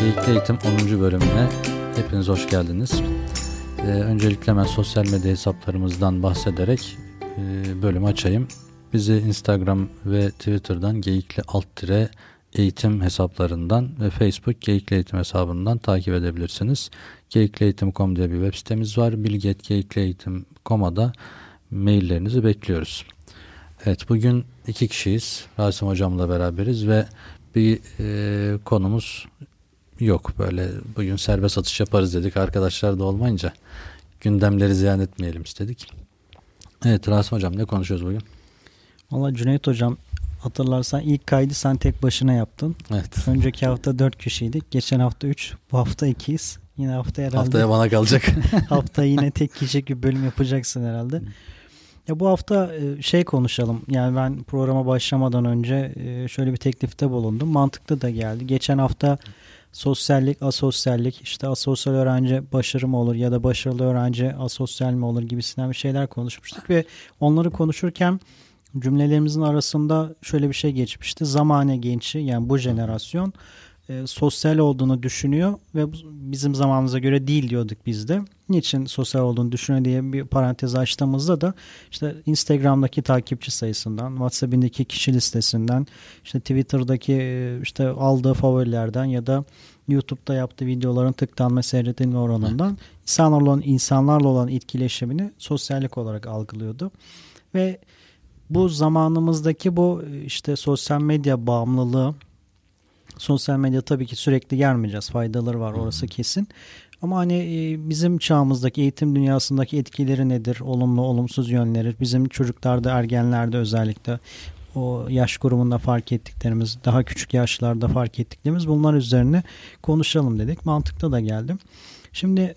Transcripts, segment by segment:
Geyikli Eğitim 10. bölümüne hepiniz hoş geldiniz. Öncelikle ben sosyal medya hesaplarımızdan bahsederek bölümü açayım. Bizi Instagram ve Twitter'dan Geyikli_Eğitim hesaplarından ve Facebook Geyikli Eğitim hesabından takip edebilirsiniz. Geyiklieğitim.com diye bir web sitemiz var. bilgi@geyiklieğitim.com'a da maillerinizi bekliyoruz. Evet, bugün 2 kişiyiz. Rasim hocamla beraberiz ve bir konumuz yok. Böyle bugün serbest atış yaparız dedik. Arkadaşlar da olmayınca gündemleri ziyan etmeyelim istedik. Evet Rasim hocam, ne konuşuyoruz bugün? Valla Cüneyt hocam, hatırlarsan ilk kaydı sen tek başına yaptın. Evet. Önceki hafta 4 kişiydik. Geçen hafta 3. Bu hafta 2'yiz. Yine Haftaya bana kalacak. Hafta yine tek kişilik bir bölüm yapacaksın herhalde. Ya bu hafta konuşalım. Yani ben programa başlamadan önce şöyle bir teklifte bulundum. Mantıklı da geldi. Geçen hafta sosyallik, asosyallik, işte asosyal öğrenci başarı mı olur ya da başarılı öğrenci asosyal mi olur gibisinden bir şeyler konuşmuştuk ve onları konuşurken cümlelerimizin arasında şöyle bir şey geçmişti. Zamane gençi, yani bu jenerasyon sosyal olduğunu düşünüyor ve bizim zamanımıza göre değil diyorduk biz de. Niçin sosyal olduğunu düşünüyor diye bir parantez açtığımızda da işte Instagram'daki takipçi sayısından, WhatsApp'indeki kişi listesinden, işte Twitter'daki işte aldığı favorilerden ya da YouTube'da yaptığı videoların tıklanma, seyredilme oranından insanlarla olan etkileşimini sosyallik olarak algılıyordu. Ve bu zamanımızdaki bu işte sosyal medya bağımlılığı, sosyal medya tabii ki sürekli gelmeyeceğiz. Faydaları var, orası kesin. Ama hani bizim çağımızdaki eğitim dünyasındaki etkileri nedir? Olumlu, olumsuz yönleri. Bizim çocuklarda, ergenlerde özellikle o yaş grubunda fark ettiklerimiz, daha küçük yaşlarda fark ettiklerimiz, bunlar üzerine konuşalım dedik. Mantıklı da geldim. Şimdi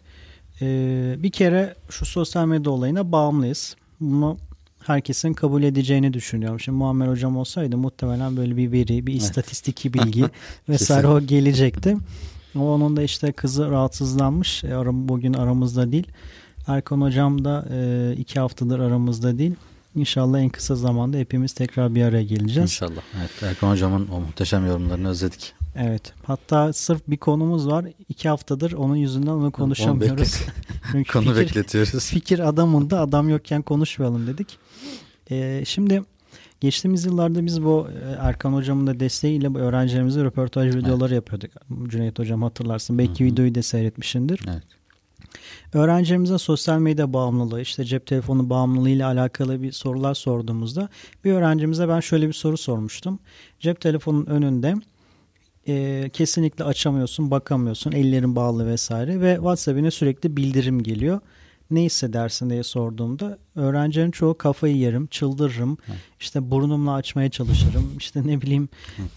bir kere şu sosyal medya olayına bağımlıyız. Bunu herkesin kabul edeceğini düşünüyorum. Şimdi Muammer hocam olsaydı muhtemelen böyle bir veri, bir istatistiki bilgi vesaire o gelecekti. Ama onun da işte kızı rahatsızlanmış. Bugün aramızda değil. Erkan hocam da 2 haftadır aramızda değil. İnşallah en kısa zamanda hepimiz tekrar bir araya geleceğiz. İnşallah. Evet, Erkan hocamın o muhteşem yorumlarını özledik. Evet. Hatta sırf bir konumuz var. 2 haftadır onun yüzünden onu konuşamıyoruz. Konu bekletiyoruz. Fikir adamında, adam yokken konuşmayalım dedik. Şimdi geçtiğimiz yıllarda biz bu Erkan hocamın da desteğiyle bu öğrencilerimize röportaj videoları yapıyorduk. Cüneyt hocam hatırlarsın. Belki videoyu da seyretmişsindir. Evet. Öğrencilerimize sosyal medya bağımlılığı, işte cep telefonu bağımlılığı ile alakalı bir sorular sorduğumuzda bir öğrencimize ben şöyle bir soru sormuştum. Cep telefonunun önünde kesinlikle açamıyorsun, bakamıyorsun, ellerin bağlı vesaire ve WhatsApp'ine sürekli bildirim geliyor. Ne hissedersin diye sorduğumda öğrencilerin çoğu kafayı yerim, çıldırırım, işte burnumla açmaya çalışırım, işte ne bileyim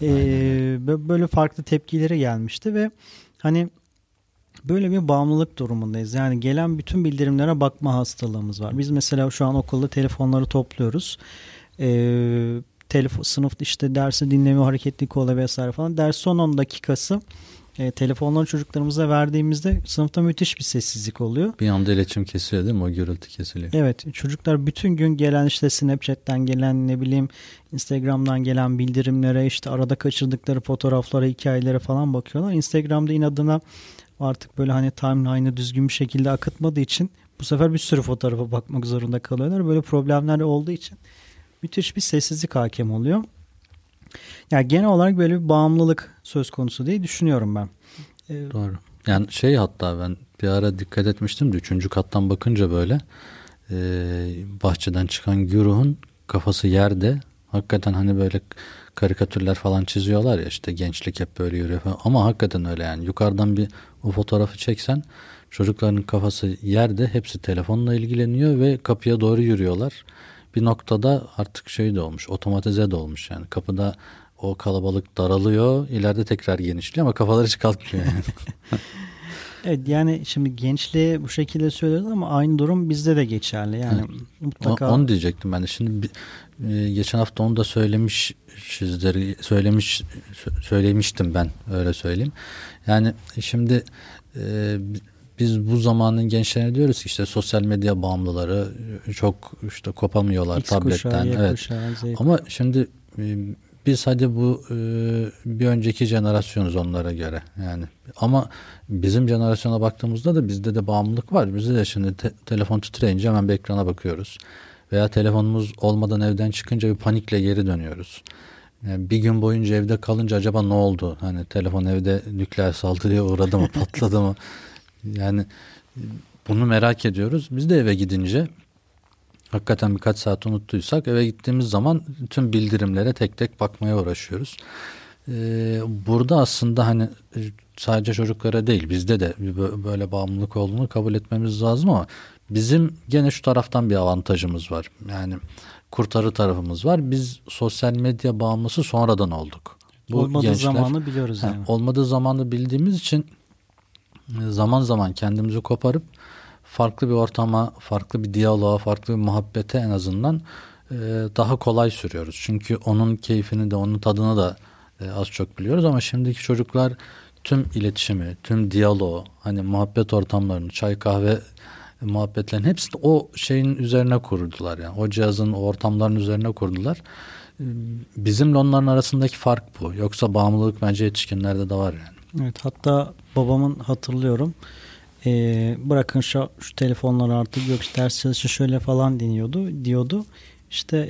böyle farklı tepkileri gelmişti ve hani böyle bir bağımlılık durumundayız. Yani gelen bütün bildirimlere bakma hastalığımız var. Biz mesela şu an okulda telefonları topluyoruz. Sınıfta işte dersi dinleme, hareketli kola vesaire falan. Ders son 10 dakikası telefonları çocuklarımıza verdiğimizde sınıfta müthiş bir sessizlik oluyor. Bir anda iletişim kesiliyor değil mi? O gürültü kesiliyor. Evet. Çocuklar bütün gün gelen işte Snapchat'ten gelen, ne bileyim Instagram'dan gelen bildirimlere, işte arada kaçırdıkları fotoğraflara, hikayelere falan bakıyorlar. Instagram'da inadına artık böyle hani timeline'ı düzgün bir şekilde akıtmadığı için bu sefer bir sürü fotoğrafa bakmak zorunda kalıyorlar. Böyle problemler olduğu için müthiş bir sessizlik hakim oluyor. Yani genel olarak böyle bir bağımlılık söz konusu diye düşünüyorum ben. Doğru. Yani hatta ben bir ara dikkat etmiştim de 3. kattan bakınca böyle bahçeden çıkan güruhun kafası yerde. Hakikaten hani böyle karikatürler falan çiziyorlar ya, işte gençlik hep böyle yürüyor falan. Ama hakikaten öyle yani. Yukarıdan bir o fotoğrafı çeksen çocukların kafası yerde, hepsi telefonla ilgileniyor ve kapıya doğru yürüyorlar. Bir noktada artık de olmuş, otomatize de olmuş yani. Kapıda o kalabalık daralıyor, ileride tekrar genişliyor ama kafalar hiç kalkmıyor yani. Evet, yani şimdi gençliğe bu şekilde söylüyoruz ama aynı durum bizde de geçerli. Yani evet. Mutlaka. Onu diyecektim ben de. Şimdi geçen hafta onu da söylemiştim ben, öyle söyleyeyim. Yani şimdi biz bu zamanın gençlerine diyoruz ki işte sosyal medya bağımlıları, çok işte kopamıyorlar X tabletten. Kuşağı, evet. kuşağı, ama şimdi biz hadi bu bir önceki jenerasyonuz onlara göre yani, ama bizim jenerasyona baktığımızda da bizde de bağımlılık var. Bizde de şimdi telefon titreyince hemen bir ekrana bakıyoruz veya telefonumuz olmadan evden çıkınca bir panikle geri dönüyoruz. Yani bir gün boyunca evde kalınca acaba ne oldu? Hani telefon evde nükleer saldırıya uğradı mı, patladı mı? Yani bunu merak ediyoruz. Biz de eve gidince hakikaten birkaç saat unuttuysak eve gittiğimiz zaman tüm bildirimlere tek tek bakmaya uğraşıyoruz. Burada aslında hani sadece çocuklara değil, bizde de böyle bağımlılık olduğunu kabul etmemiz lazım, ama bizim gene şu taraftan bir avantajımız var. Yani kurtarı tarafımız var. Biz sosyal medya bağımlısı sonradan olduk. Bu olmadığı gençler, zamanı biliyoruz yani. olmadığı zamanı bildiğimiz için zaman zaman kendimizi koparıp farklı bir ortama, farklı bir diyaloğa, farklı bir muhabbete en azından daha kolay sürüyoruz. Çünkü onun keyfini de, onun tadını da az çok biliyoruz, ama şimdiki çocuklar tüm iletişimi, tüm diyaloğu, hani muhabbet ortamlarını, çay kahve muhabbetlerin hepsini o şeyin üzerine kurdular. Yani o cihazın, o ortamların üzerine kurdular. Bizimle onların arasındaki fark bu. Yoksa bağımlılık bence yetişkinlerde de var yani. Evet, hatta babamın hatırlıyorum. Bırakın şu telefonları artık, yok işte ders çalışın şöyle falan diyordu. İşte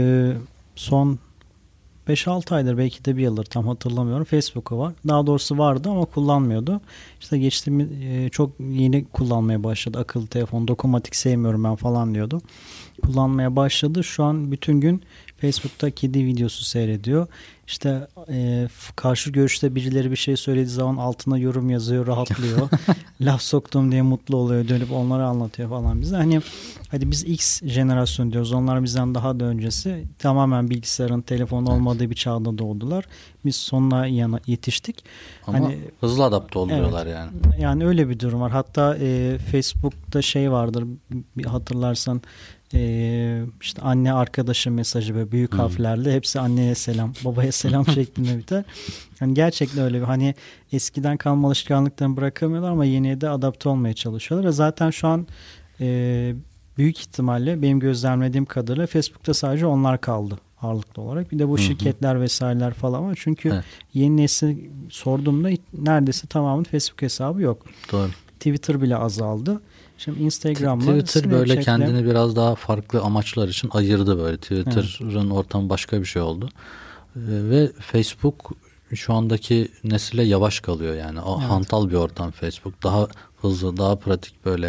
son 5-6 aydır, belki de bir yıldır, tam hatırlamıyorum, Facebook'u var. Daha doğrusu vardı ama kullanmıyordu. İşte geçtiğimiz çok yeni kullanmaya başladı. Akıllı telefon, dokunmatik sevmiyorum ben falan diyordu. Kullanmaya başladı. Şu an bütün gün Facebook'ta kedi videosu seyrediyor. İşte karşı görüşte birileri bir şey söylediği zaman altına yorum yazıyor, rahatlıyor. Laf soktum diye mutlu oluyor, dönüp onları anlatıyor falan bize. Hani hadi biz X jenerasyon diyoruz. Onlar bizden daha da öncesi. Tamamen bilgisayarın, telefon olmadığı bir çağda doğdular. Biz sonuna yetiştik. Ama hani hızlı adapte oluyorlar evet, yani. Yani öyle bir durum var. Hatta Facebook'ta şey vardır, bir hatırlarsan, işte anne arkadaşı mesajı böyle büyük harflerle, hepsi anneye selam, babaya selam şeklinde biter. Yani gerçekten öyle bir, hani eskiden kalma alışkanlıklarını bırakamıyorlar ama yeniye de adapte olmaya çalışıyorlar. Ve zaten şu an büyük ihtimalle benim gözlemlediğim kadarıyla Facebook'ta sadece onlar kaldı ağırlıklı olarak. Bir de bu şirketler vesaireler falan var. Çünkü yeni nesil sorduğumda neredeyse tamamının Facebook hesabı yok. Doğru. Twitter bile azaldı. Şimdi Instagram'la, Twitter böyle kendini biraz daha farklı amaçlar için ayırdı böyle. Twitter'ın ortamı başka bir şey oldu. Ve Facebook şu andaki nesile yavaş kalıyor yani. O hantal bir ortam Facebook. Daha hızlı, daha pratik böyle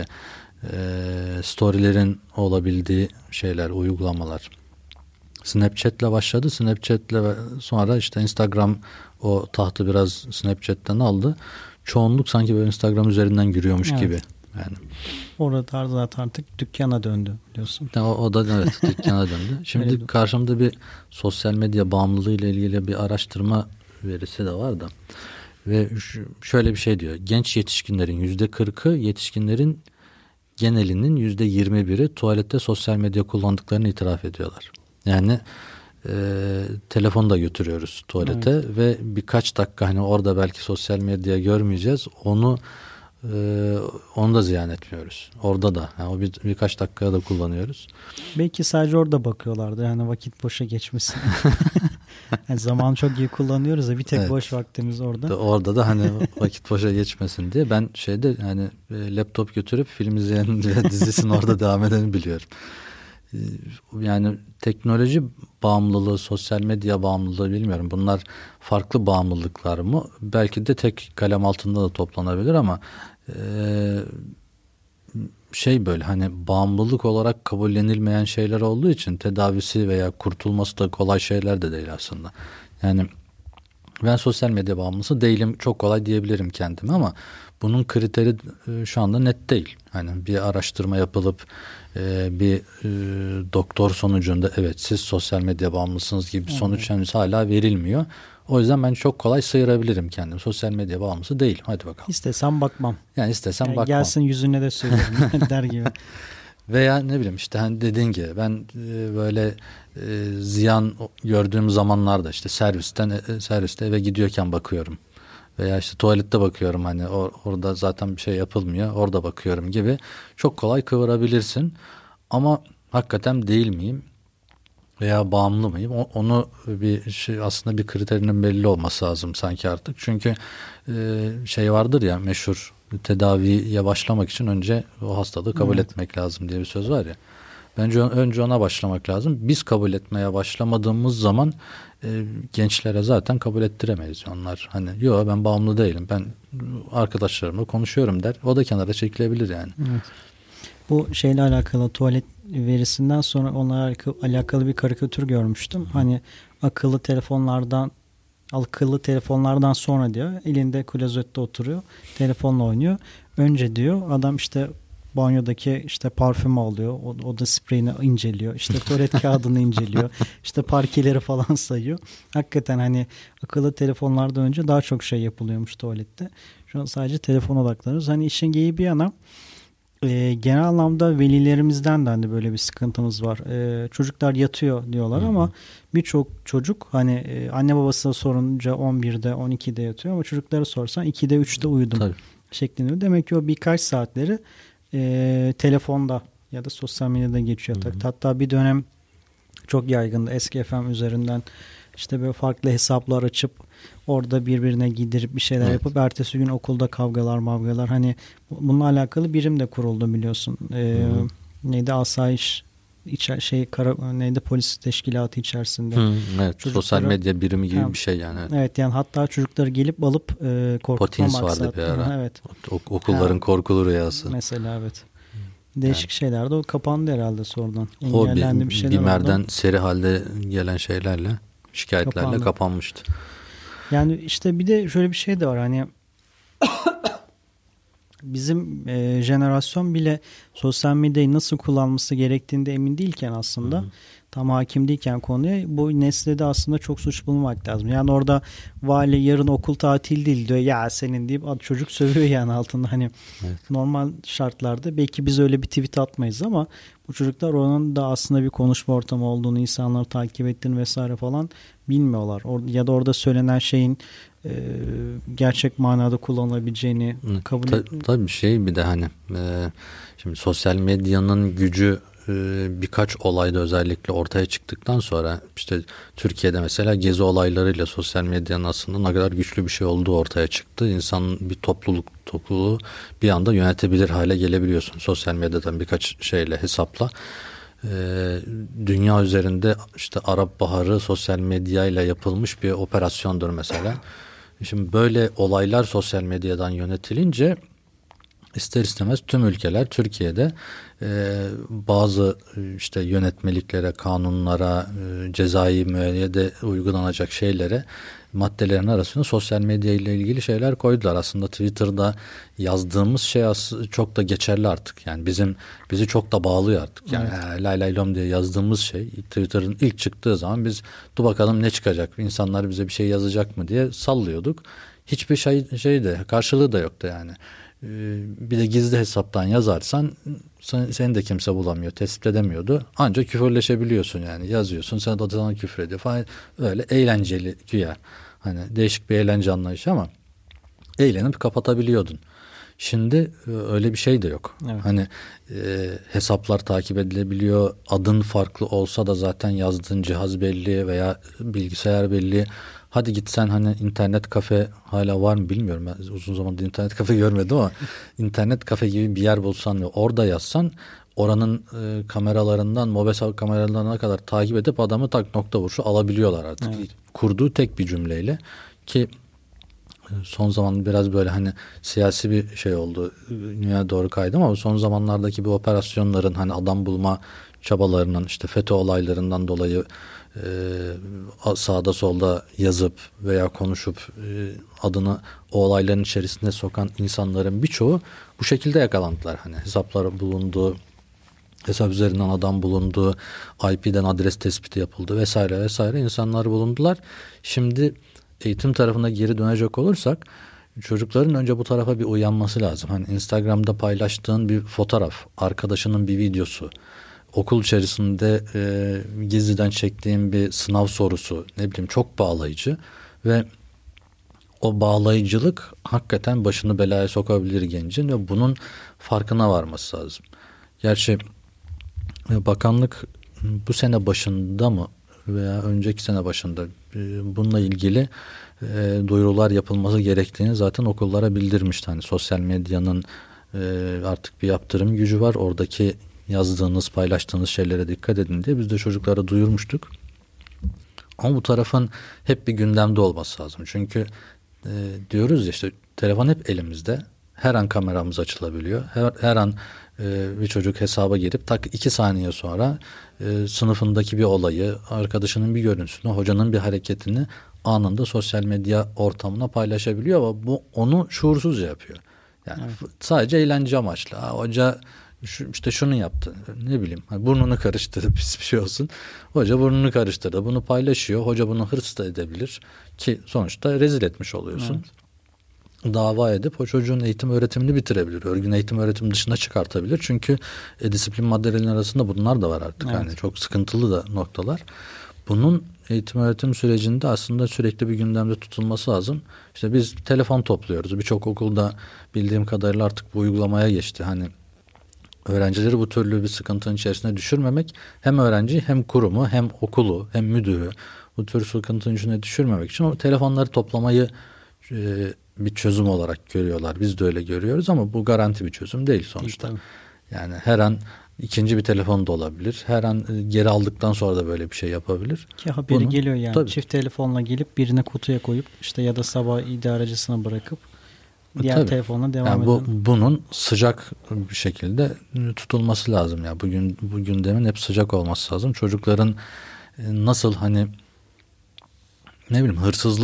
storylerin olabildiği şeyler, uygulamalar. Snapchat'le başladı. Snapchat'le sonra işte Instagram o tahtı biraz Snapchat'ten aldı. Çoğunluk sanki böyle Instagram üzerinden yürüyormuş gibi. Yani orada zaten artık dükkana döndü biliyorsun. O da evet dükkana döndü. Şimdi karşımda bir sosyal medya bağımlılığı ile ilgili bir araştırma verisi de var da, ve şöyle bir şey diyor. Genç yetişkinlerin %40'ı, yetişkinlerin genelinin %21'i tuvalette sosyal medya kullandıklarını itiraf ediyorlar. Yani telefonu da götürüyoruz tuvalete ve birkaç dakika hani orada belki sosyal medya görmeyeceğiz. Onu da ziyan etmiyoruz. Orada da. Yani o birkaç dakikaya da kullanıyoruz. Belki sadece orada bakıyorlardı. Yani vakit boşa geçmesin. Yani zamanı çok iyi kullanıyoruz da bir tek boş vaktimiz orada. Orada da hani vakit boşa geçmesin diye ben hani laptop götürüp film izleyen dizisinin orada devam edeni biliyorum. Yani teknoloji bağımlılığı, sosyal medya bağımlılığı bilmiyorum. Bunlar farklı bağımlılıklar mı? Belki de tek kalem altında da toplanabilir ama böyle hani bağımlılık olarak kabullenilmeyen şeyler olduğu için tedavisi veya kurtulması da kolay şeyler de değil aslında. Yani ben sosyal medya bağımlısı değilim, çok kolay diyebilirim kendime, ama bunun kriteri şu anda net değil. Hani bir araştırma yapılıp bir doktor sonucunda evet siz sosyal medya bağımlısınız gibi bir sonuç henüz hala verilmiyor. O yüzden ben çok kolay sıyırabilirim kendimi. Sosyal medya bağımlısı değilim. Hadi bakalım. İstesem bakmam. Yani istesem bakmam. Gelsin yüzüne de söylerim der gibi. Veya ne bileyim işte hani dediğin gibi ben böyle ziyan gördüğüm zamanlarda işte serviste eve gidiyorken bakıyorum. Veya işte tuvalette bakıyorum, hani orada zaten bir şey yapılmıyor, orada bakıyorum gibi çok kolay kıvırabilirsin. Ama hakikaten değil miyim? veya bağımlı mıyım? Onu bir şey, aslında bir kriterinin belli olması lazım sanki artık. Çünkü şey vardır ya, meşhur, tedaviye başlamak için önce o hastalığı kabul etmek lazım diye bir söz var ya. Bence önce ona başlamak lazım. Biz kabul etmeye başlamadığımız zaman gençlere zaten kabul ettiremeyiz. Onlar hani yo ben bağımlı değilim, ben arkadaşlarımla konuşuyorum der. O da kenara çekilebilir yani. Evet. Bu şeyle alakalı, tuvalet verisinden sonra onunla alakalı bir karikatür görmüştüm. Hani akıllı telefonlardan sonra diyor, elinde klozette oturuyor, telefonla oynuyor. Önce diyor adam işte banyodaki işte parfümü alıyor, oda spreyini inceliyor, işte tuvalet kağıdını inceliyor, işte parkeleri falan sayıyor. Hakikaten hani akıllı telefonlardan önce daha çok şey yapılıyormuş tuvalette. Şu an sadece telefon odaklanıyoruz. Hani işin geyiği bir yana, genel anlamda velilerimizden de hani böyle bir sıkıntımız var. Çocuklar yatıyor diyorlar ama birçok çocuk hani anne babasına sorunca 11'de 12'de yatıyor ama çocuklara sorsan 2'de 3'te uyudum Tabii. şeklinde. Demek ki o birkaç saatleri telefonda ya da sosyal medyada geçiyor. Hatta bir dönem çok yaygındı, eski FM üzerinden işte böyle farklı hesaplar açıp orada birbirine giydirip bir şeyler yapıp ertesi gün okulda kavgalar hani bununla alakalı birim de kuruldu biliyorsun. Neydi, asayiş neydi, polis teşkilatı içerisinde. Evet, sosyal medya birimi gibi bir şey yani. Evet, yani hatta çocukları gelip alıp korkutma Potins maksatlı. vardı bir ara. Evet. Okulların korkulu rüyası. Mesela evet. Değişik şeyler de o kapandı herhalde sonradan. O Engellendi bir şeyler BİMER'den oldu. seri halde gelen şeylerle, şikayetlerle kapanmıştı. Yani işte bir de şöyle bir şey de var, hani bizim jenerasyon bile sosyal medyayı nasıl kullanması gerektiğinde emin değilken, aslında tam hakim değilken konuya, bu nesle de aslında çok suç bulmak lazım. Yani orada vali yarın okul tatil değil diyor, ya senin deyip çocuk sövüyor yani altında. Hani normal şartlarda belki biz öyle bir tweet atmayız ama bu çocuklar onun da aslında bir konuşma ortamı olduğunu, insanları takip ettiğini vesaire falan bilmiyorlar. Ya da orada söylenen şeyin gerçek manada kullanılabileceğini kabul Tabii şey, bir de hani şimdi sosyal medyanın gücü birkaç olayda özellikle ortaya çıktıktan sonra, işte Türkiye'de mesela gezi olaylarıyla sosyal medyanın aslında ne kadar güçlü bir şey olduğu ortaya çıktı. İnsan bir topluluğu bir anda yönetebilir hale gelebiliyorsun sosyal medyadan birkaç şeyle, hesapla. Dünya üzerinde işte Arap Baharı sosyal medyayla yapılmış bir operasyondur mesela. Şimdi böyle olaylar sosyal medyadan yönetilince ister istemez tüm ülkeler Türkiye'de bazı işte yönetmeliklere, kanunlara, cezai müeyyide uygulanacak şeylere, maddelerin arasında sosyal medya ile ilgili şeyler koydular. Aslında Twitter'da yazdığımız şey çok da geçerli artık. Yani bizi çok da bağlıyor artık. Yani lay lay lom diye yazdığımız şey, Twitter'ın ilk çıktığı zaman biz dur bakalım ne çıkacak, insanlar bize bir şey yazacak mı diye sallıyorduk. Hiçbir şey de karşılığı da yoktu yani. Bir de gizli hesaptan yazarsan seni de kimse bulamıyor, tespit edemiyordu. Ancak küfürleşebiliyorsun yani, yazıyorsun, sen de sana küfür ediyor falan, öyle eğlenceli güya. Hani değişik bir eğlence anlayışı ama eğlenip kapatabiliyordun. Şimdi öyle bir şey de yok. Evet. Hani hesaplar takip edilebiliyor. Adın farklı olsa da zaten yazdığın cihaz belli veya bilgisayar belli. Hadi gitsen hani internet kafe hala var mı bilmiyorum. Ben uzun zamandır internet kafe görmedim ama internet kafe gibi bir yer bulsan ve orada yazsan, oranın kameralarından, mobil kameralarına kadar takip edip adamı nokta vuruşu alabiliyorlar artık. Evet. Kurduğu tek bir cümleyle, ki son zaman biraz böyle hani siyasi bir şey oldu. Dünya doğru kaydı ama son zamanlardaki bu operasyonların, hani adam bulma çabalarının, işte FETÖ olaylarından dolayı sağda solda yazıp veya konuşup adını o olayların içerisine sokan insanların birçoğu bu şekilde yakalandılar. Hani hesapları bulundu, hesap üzerinden adam bulundu, IP'den adres tespiti yapıldı vesaire vesaire, insanlar bulundular. Şimdi eğitim tarafına geri dönecek olursak, çocukların önce bu tarafa bir uyanması lazım. Hani Instagram'da paylaştığın bir fotoğraf, arkadaşının bir videosu, okul içerisinde gizliden çektiğim bir sınav sorusu, ne bileyim, çok bağlayıcı ve o bağlayıcılık hakikaten başını belaya sokabilir gencin ve bunun farkına varması lazım. Gerçi bakanlık bu sene başında mı veya önceki sene başında bununla ilgili duyurular yapılması gerektiğini zaten okullara bildirmişti. Hani sosyal medyanın artık bir yaptırım gücü var. Oradaki yazdığınız, paylaştığınız şeylere dikkat edin diye biz de çocuklara duyurmuştuk. Ama bu tarafın hep bir gündemde olması lazım. Çünkü diyoruz ya işte telefon hep elimizde. Her an kameramız açılabiliyor. Her an bir çocuk hesaba girip tak 2 saniye sonra sınıfındaki bir olayı, arkadaşının bir görüntüsünü, hocanın bir hareketini anında sosyal medya ortamına paylaşabiliyor ama bu onu şuursuzca yapıyor. Yani sadece eğlence amaçlı. Hoca işte şunu yaptı. Ne bileyim. Burnunu karıştırdı. Pis bir şey olsun. Hoca burnunu karıştırdı. Bunu paylaşıyor. Hoca bunu hırs da edebilir. Ki sonuçta rezil etmiş oluyorsun. Evet. Dava edip o çocuğun eğitim öğretimini bitirebilir. Örgün eğitim öğretim dışına çıkartabilir. Çünkü disiplin maddelerinin arasında bunlar da var artık. Evet. Yani çok sıkıntılı da noktalar. Bunun eğitim öğretim sürecinde aslında sürekli bir gündemde tutulması lazım. İşte biz telefon topluyoruz. Birçok okulda bildiğim kadarıyla artık bu uygulamaya geçti. Hani öğrencileri bu türlü bir sıkıntının içerisine düşürmemek, hem öğrenci hem kurumu hem okulu hem müdürü bu tür sıkıntının içine düşürmemek için o telefonları toplamayı bir çözüm olarak görüyorlar. Biz de öyle görüyoruz ama bu garanti bir çözüm değil sonuçta. Yani her an ikinci bir telefon da olabilir. Her an geri aldıktan sonra da böyle bir şey yapabilir. Ki haberi geliyor yani. Tabii. Çift telefonla gelip birine kutuya koyup işte ya da sabah idarecisine bırakıp diğer telefonla devam yani bunun sıcak bir şekilde tutulması lazım ya. Bugün bu gündemin hep sıcak olması lazım. Çocukların nasıl hani ne bileyim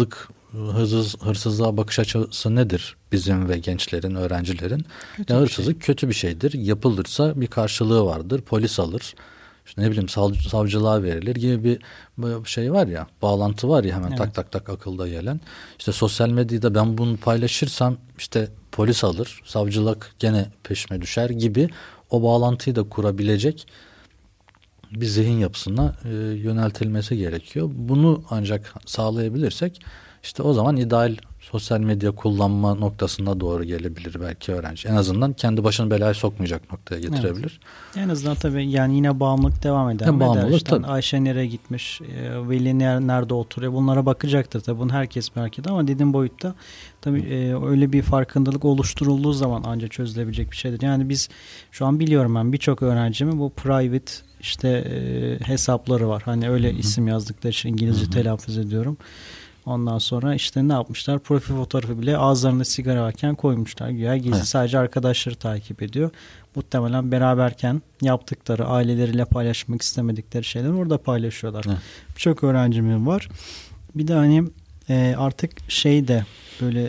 hırsızlığa bakış açısı nedir bizim ve gençlerin, öğrencilerin? Ya hırsızlık kötü bir şeydir. Yapılırsa bir karşılığı vardır. Polis alır. İşte ne bileyim savcılığa verilir gibi bir şey var ya, bağlantı var ya hemen tak tak tak akılda gelen. İşte sosyal medyada ben bunu paylaşırsam işte polis alır, savcılık gene peşime düşer gibi o bağlantıyı da kurabilecek bir zihin yapısına yöneltilmesi gerekiyor. Bunu ancak sağlayabilirsek işte o zaman ideal sosyal medya kullanma noktasına doğru gelebilir belki öğrenci. En azından kendi başını belaya sokmayacak noktaya getirebilir. Evet. En azından tabii yani yine bağımlılık devam eder. Bağımlılık işte, Ayşe nereye gitmiş, Veli nerede oturuyor, bunlara bakacaktır tabii. Bunu herkes merak ediyor ama dediğim boyutta tabii öyle bir farkındalık oluşturulduğu zaman ancak çözülebilecek bir şeydir. Yani biz şu an biliyorum ben birçok öğrencimin bu private işte hesapları var. Hani öyle isim yazdıkları için İngilizce telaffuz ediyorum. Ondan sonra işte ne yapmışlar? Profil fotoğrafı bile ağızlarında sigara varken koymuşlar. Güya gizli sadece arkadaşları takip ediyor. Muhtemelen beraberken yaptıkları, aileleriyle paylaşmak istemedikleri şeyler orada paylaşıyorlar. Birçok öğrencimin var. Bir de hani artık şey de böyle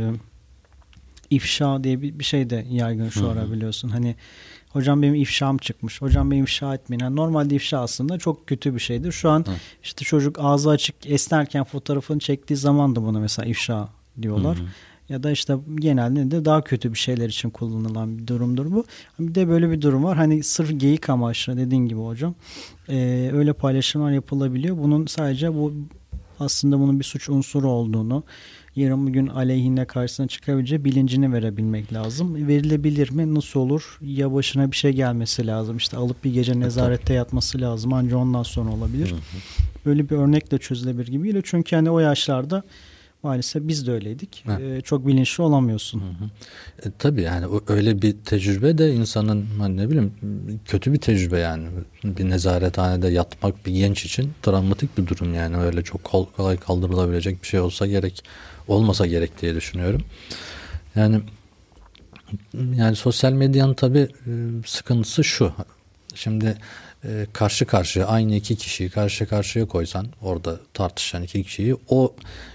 ifşa diye bir şey de yaygın şu ara biliyorsun. Hani hocam benim ifşam çıkmış. Hocam benim ifşa etmeyin. Yani normalde ifşa aslında çok kötü bir şeydir. Şu an işte çocuk ağzı açık esnerken fotoğrafını çektiği zaman da buna mesela ifşa diyorlar. Ya da işte genelde de daha kötü bir şeyler için kullanılan bir durumdur bu. Bir de böyle bir durum var. Hani sırf geyik amaçlı dediğin gibi hocam. Öyle paylaşımlar yapılabiliyor. Bunun sadece bu aslında bunun bir suç unsuru olduğunu, yarın bir gün aleyhine karşısına çıkabileceği bilincini verebilmek lazım. Verilebilir mi? Nasıl olur? Ya başına bir şey gelmesi lazım. İşte alıp bir gece nezarette yatması lazım. Ancak ondan sonra olabilir. Böyle bir örnekle çözülebilir gibi geliyor. Çünkü hani o yaşlarda maalesef biz de öyleydik. Çok bilinçli olamıyorsun. Tabii yani öyle bir tecrübe de insanın hani ne bileyim kötü bir tecrübe yani. Bir nezarethanede yatmak bir genç için travmatik bir durum yani. Öyle çok kolay kaldırılabilecek bir şey olmasa gerek diye düşünüyorum. Yani sosyal medyanın tabii sıkıntısı şu. Şimdi karşı karşıya aynı iki kişiyi karşı karşıya koysan orada tartışan iki kişiyi o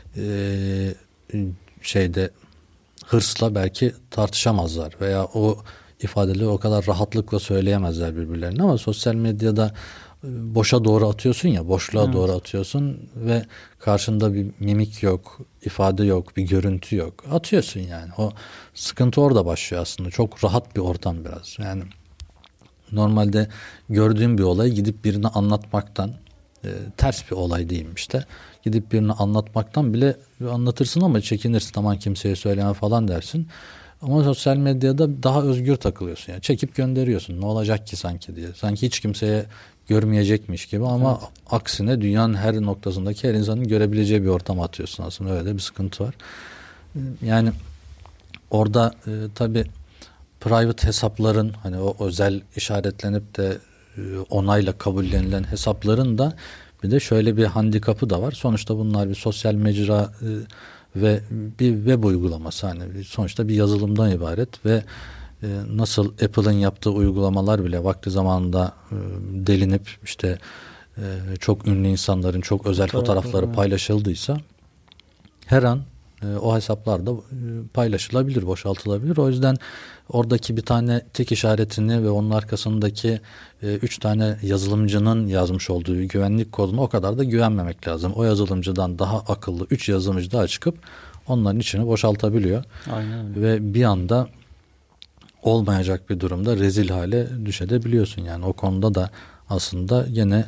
şeyde hırsla belki tartışamazlar veya o ifadeleri o kadar rahatlıkla söyleyemezler birbirlerine ama sosyal medyada boşa doğru atıyorsun ya, boşluğa doğru atıyorsun ve karşında bir mimik yok, ifade yok, bir görüntü yok. Atıyorsun yani. O sıkıntı orada başlıyor aslında. Çok rahat bir ortam biraz. Yani normalde gördüğün bir olayı gidip birine anlatmaktan ters bir olay diyeyim işte. Gidip birine anlatmaktan bile anlatırsın ama çekinirsin. Aman kimseye söyleme falan dersin. Ama sosyal medyada daha özgür takılıyorsun. Yani çekip gönderiyorsun. Ne olacak ki sanki diye. Sanki hiç kimseye görmeyecekmiş gibi ama aksine dünyanın her noktasındaki her insanın görebileceği bir ortama atıyorsun aslında. Öyle de bir sıkıntı var. Yani orada tabii private hesapların hani o özel işaretlenip de onayla kabullenilen hesapların da bir de şöyle bir handikapı da var. Sonuçta bunlar bir sosyal mecra ve bir web uygulaması, hani sonuçta bir yazılımdan ibaret ve nasıl Apple'ın yaptığı uygulamalar bile vakti zamanında delinip işte çok ünlü insanların çok özel fotoğrafları paylaşıldıysa her an o hesaplar da paylaşılabilir, boşaltılabilir. O yüzden oradaki bir tane tek işaretini ve onun arkasındaki 3 tane yazılımcının yazmış olduğu güvenlik koduna o kadar da güvenmemek lazım. O yazılımcıdan daha akıllı 3 yazılımcı daha çıkıp onların içini boşaltabiliyor. Aynen öyle. Ve bir anda olmayacak bir durumda rezil hale düşebiliyorsun. Yani o konuda da aslında yine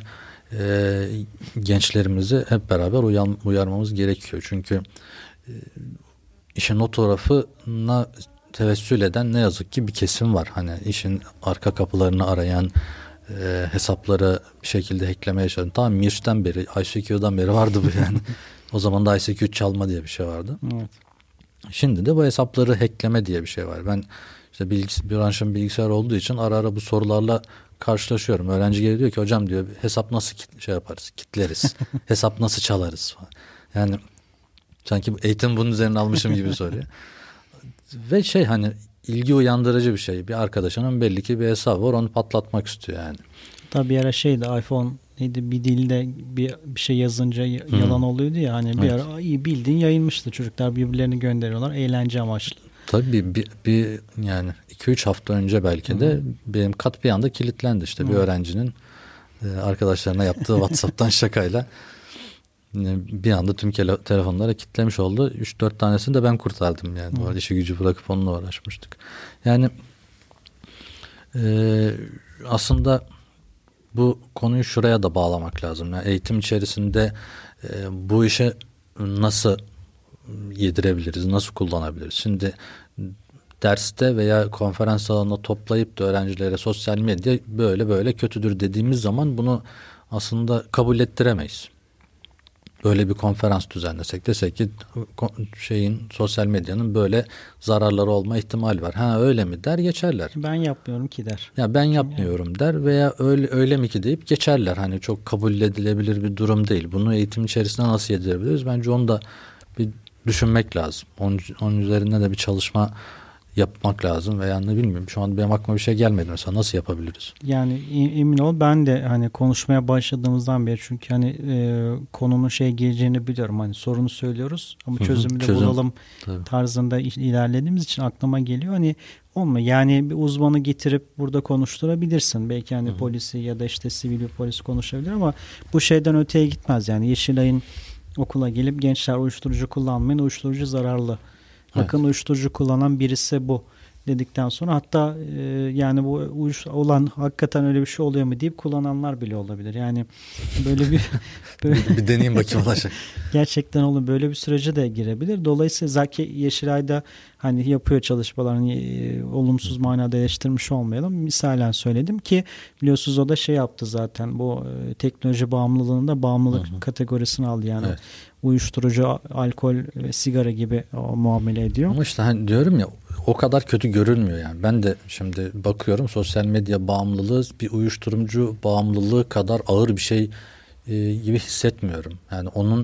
gençlerimizi hep beraber uyarmamız gerekiyor. Çünkü işin o tarafına tevessül eden ne yazık ki bir kesim var. Hani işin arka kapılarını arayan, hesapları bir şekilde hacklemeye çalışan. Tamam, Mirç'ten beri, ICQ'dan beri vardı bu yani. O zaman da ICQ çalma diye bir şey vardı. Evet. Şimdi de bu hesapları hackleme diye bir şey var. Ben işte branşım bilgisayar olduğu için ara ara bu sorularla karşılaşıyorum. Öğrenci geliyor diyor ki hocam diyor hesap nasıl şey yaparız, kitleriz, hesap nasıl çalarız falan. Yani sanki eğitim bunun üzerine almışım gibi soruyor. Ve hani ilgi uyandırıcı bir şey. Bir arkadaşının belli ki bir hesabı var, onu patlatmak istiyor yani. Tabii bir ara iPhone neydi, bir dilde bir şey yazınca yalan oluyordu ya, hani bir ara iyi bildiğin yayılmıştı. Çocuklar birbirlerini gönderiyorlar eğlence amaçlı. Tabii bir yani 2-3 hafta önce belki de benim kat bir anda kilitlendi işte bir öğrencinin arkadaşlarına yaptığı WhatsApp'tan şakayla bir anda tüm telefonlara kilitlemiş oldu. 3-4 tanesini de ben kurtardım yani. Orada işi gücü bırakıp onunla uğraşmıştık. Yani aslında bu konuyu şuraya da bağlamak lazım. Yani eğitim içerisinde bu işe nasıl yedirebiliriz, nasıl kullanabiliriz? Şimdi derste veya konferans salonunda toplayıp da öğrencilere sosyal medya böyle böyle kötüdür dediğimiz zaman bunu aslında kabul ettiremeyiz. Böyle bir konferans düzenlesek, desek ki sosyal medyanın böyle zararları olma ihtimali var. Ha öyle mi der, geçerler. Ben yapmıyorum ki der. Ya ben yapmıyorum der veya öyle mi ki deyip geçerler. Hani çok kabul edilebilir bir durum değil. Bunu eğitim içerisinde nasıl yedirebiliriz? Bence onu da bir düşünmek lazım. Onun üzerine de bir çalışma yapmak lazım veya ne bilmiyorum. Şu an benim aklıma bir şey gelmedi mesela. Nasıl yapabiliriz? Yani emin ol, ben de hani konuşmaya başladığımızdan beri, çünkü hani konunun geleceğini biliyorum. Hani sorunu söylüyoruz ama çözümü de bulalım tarzında ilerlediğimiz için aklıma geliyor. Hani olma yani bir uzmanı getirip burada konuşturabilirsin. Belki hani polisi ya da işte sivil bir polis konuşabilir ama bu şeyden öteye gitmez. Yani Yeşilay'ın okula gelip gençler uyuşturucu kullanmayın, uyuşturucu zararlı. Bakın uyuşturucu kullanan birisi bu dedikten sonra hatta yani bu olan hakikaten öyle bir şey oluyor mu deyip kullananlar bile olabilir. Yani böyle bir bir deneyim bakayım olacak. Gerçekten böyle bir sürece de girebilir. Dolayısıyla Zaki Yeşilay'da hani yapıyor çalışmalarını, olumsuz manada eleştirmiş olmayalım. Misalen söyledim ki biliyorsunuz o da yaptı zaten, bu teknoloji bağımlılığında bağımlılık kategorisini aldı yani. Evet. Uyuşturucu, alkol ve sigara gibi muamele ediyor. Ama işte hani diyorum ya, o kadar kötü görülmüyor yani. Ben de şimdi bakıyorum, sosyal medya bağımlılığı bir uyuşturucu bağımlılığı kadar ağır bir şey gibi hissetmiyorum. Yani onun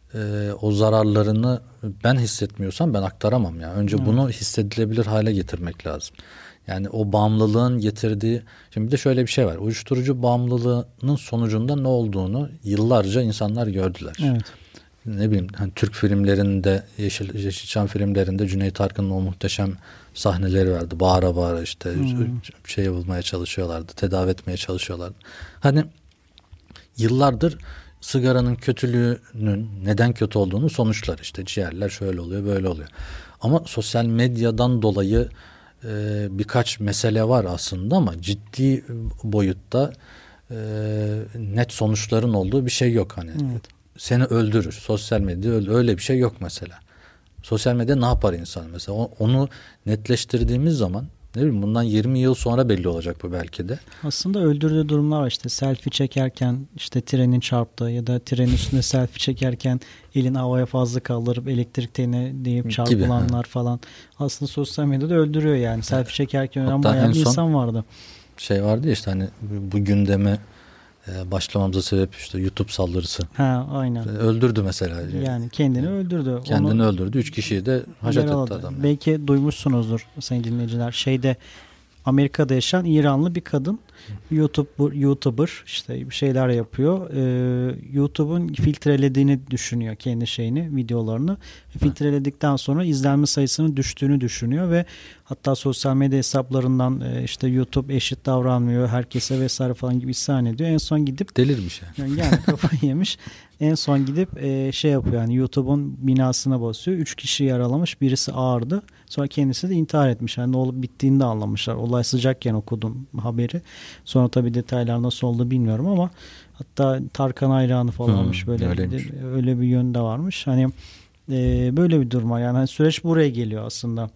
o zararlarını ben hissetmiyorsam ben aktaramam ya. Önce bunu hissedilebilir hale getirmek lazım. Yani o bağımlılığın getirdiği, şimdi bir de şöyle bir şey var. Uyuşturucu bağımlılığının sonucunda ne olduğunu yıllarca insanlar gördüler. Evet. Ne bileyim hani Türk filmlerinde, Yeşilçam filmlerinde Cüneyt Arkın'ın o muhteşem sahneleri vardı. Bağıra bağıra işte bulmaya çalışıyorlardı, tedavi etmeye çalışıyorlardı. Hani yıllardır sigaranın kötülüğünün neden kötü olduğunu sonuçlar, işte ciğerler şöyle oluyor böyle oluyor. Ama sosyal medyadan dolayı birkaç mesele var aslında ama ciddi boyutta net sonuçların olduğu bir şey yok hani. Evet. Seni öldürür. Sosyal medya öyle bir şey yok mesela. Sosyal medya ne yapar insan mesela? Onu netleştirdiğimiz zaman Ne bileyim, bundan 20 yıl sonra belli olacak bu belki de. Aslında öldürdüğü durumlar var, işte selfie çekerken işte trenin çarptığı ya da trenin üstünde selfie çekerken elin havaya fazla kaldırıp elektrik teline deyip çarpılanlar falan. Aslında sosyal medyada öldürüyor yani. Selfie çekerken ölen bayağı bir insan vardı. Şey vardı ya işte, hani bu gündeme başlamamıza sebep işte YouTube saldırısı. Ha, aynen. Öldürdü mesela. Yani kendini öldürdü. Kendini öldürdü. 3 kişiyi de haşat etti adam. Yani. Belki duymuşsunuzdur sayın dinleyiciler. Amerika'da yaşayan İranlı bir kadın, YouTuber işte bir şeyler yapıyor. YouTube'un filtrelediğini düşünüyor kendi videolarını. Filtreledikten sonra izlenme sayısının düştüğünü düşünüyor ve hatta sosyal medya hesaplarından işte YouTube eşit davranmıyor herkese vesaire falan gibi isyan ediyor. En son gidip delirmiş yani kafayı yemiş. En son gidip yapıyor, yani YouTube'un binasına basıyor. 3 kişi yaralamış, birisi ağırdı. Sonra kendisi de intihar etmiş. Yani ne olup bittiğini de anlamışlar. Olay sıcakken okudum haberi. Sonra tabii detaylar nasıl oldu bilmiyorum ama hatta Tarkan hayranı falanmış, böyle öyle bir yönde varmış. Hani böyle bir durum var. Yani hani süreç buraya geliyor aslında.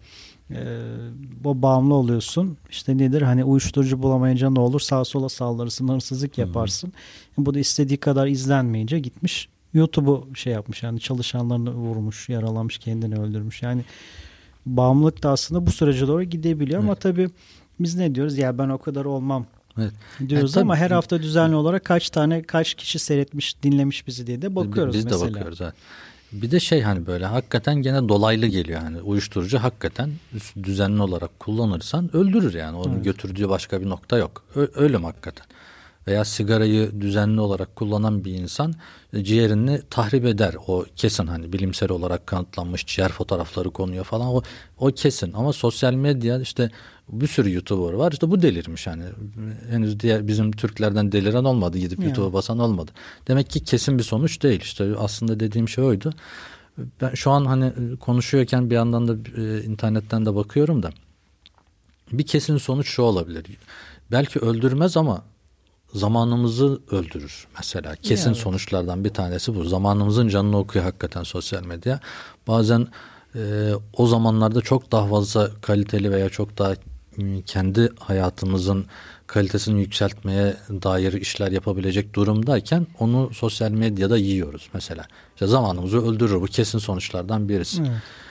O bağımlı oluyorsun. İşte nedir? Hani uyuşturucu bulamayınca ne olur? Sağa sola saldırırsın, hırsızlık yaparsın. Bu da istediği kadar izlenmeyince gitmiş YouTube'u yapmış. Yani çalışanlarını vurmuş, yaralamış, kendini öldürmüş. Yani bağımlılık da aslında bu sürece doğru gidebiliyor. Evet. Ama tabii biz ne diyoruz? Ya ben o kadar olmam diyoruz ama her hafta düzenli olarak kaç kişi seyretmiş, dinlemiş bizi diye de bakıyoruz biz mesela. Biz de bakıyoruz. Evet. Bir de hani böyle hakikaten gene dolaylı geliyor. Yani uyuşturucu hakikaten düzenli olarak kullanırsan öldürür yani. Onun götürdüğü başka bir nokta yok. Ölüm hakikaten. Veya sigarayı düzenli olarak kullanan bir insan ciğerini tahrip eder. O kesin, hani bilimsel olarak kanıtlanmış, ciğer fotoğrafları konuyor falan, o kesin. Ama sosyal medya işte bir sürü YouTuber var, işte bu delirmiş hani. Henüz bizim Türklerden deliren olmadı, gidip YouTube'a basan olmadı. Demek ki kesin bir sonuç değil. İşte aslında dediğim şey oydu. Ben şu an hani konuşuyorken bir yandan da internetten de bakıyorum da bir kesin sonuç şu olabilir. Belki öldürmez ama zamanımızı öldürür mesela. Kesin sonuçlardan bir tanesi bu. Zamanımızın canını okuyor hakikaten sosyal medya. Bazen o zamanlarda çok daha fazla kaliteli veya çok daha kendi hayatımızın kalitesini yükseltmeye dair işler yapabilecek durumdayken onu sosyal medyada yiyoruz mesela. İşte zamanımızı öldürür. Bu kesin sonuçlardan birisi.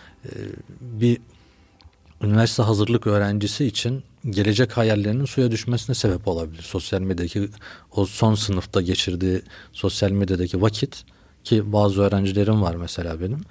Bir üniversite hazırlık öğrencisi için gelecek hayallerinin suya düşmesine sebep olabilir. Sosyal medyadaki o son sınıfta geçirdiği sosyal medyadaki vakit, ki bazı öğrencilerim var mesela benim,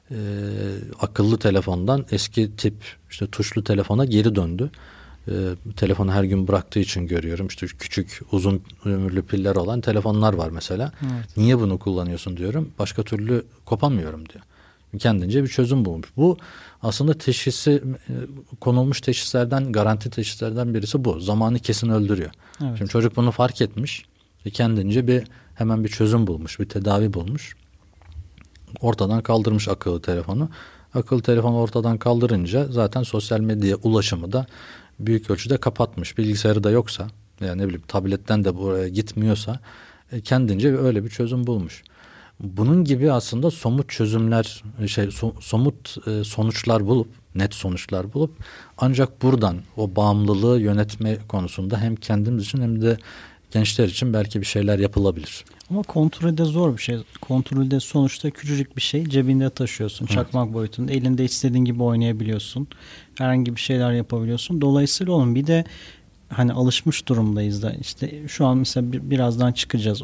akıllı telefondan eski tip işte tuşlu telefona geri döndü. Telefonu her gün bıraktığı için görüyorum. İşte küçük uzun ömürlü piller olan telefonlar var mesela. Evet. Niye bunu kullanıyorsun diyorum. Başka türlü kopamıyorum diyor. Kendince bir çözüm bulmuş. Bu aslında konulmuş teşhislerden, garanti teşhislerden birisi bu. Zamanı kesin öldürüyor. Evet. Şimdi çocuk bunu fark etmiş ve kendince hemen bir çözüm bulmuş, bir tedavi bulmuş. Ortadan kaldırmış akıllı telefonu. Akıllı telefonu ortadan kaldırınca zaten sosyal medyaya ulaşımı da büyük ölçüde kapatmış. Bilgisayarı da yoksa, yani ne bileyim tabletten de buraya gitmiyorsa kendince öyle bir çözüm bulmuş. Bunun gibi aslında somut çözümler, somut sonuçlar bulup, net sonuçlar bulup ancak buradan o bağımlılığı yönetme konusunda hem kendimiz için hem de gençler için belki bir şeyler yapılabilir. Ama kontrolde zor bir şey. Kontrolde sonuçta küçücük bir şey cebinde taşıyorsun. Çakmak boyutunda. Elinde istediğin gibi oynayabiliyorsun. Herhangi bir şeyler yapabiliyorsun. Dolayısıyla onun bir de hani alışmış durumdayız da işte şu an mesela birazdan çıkacağız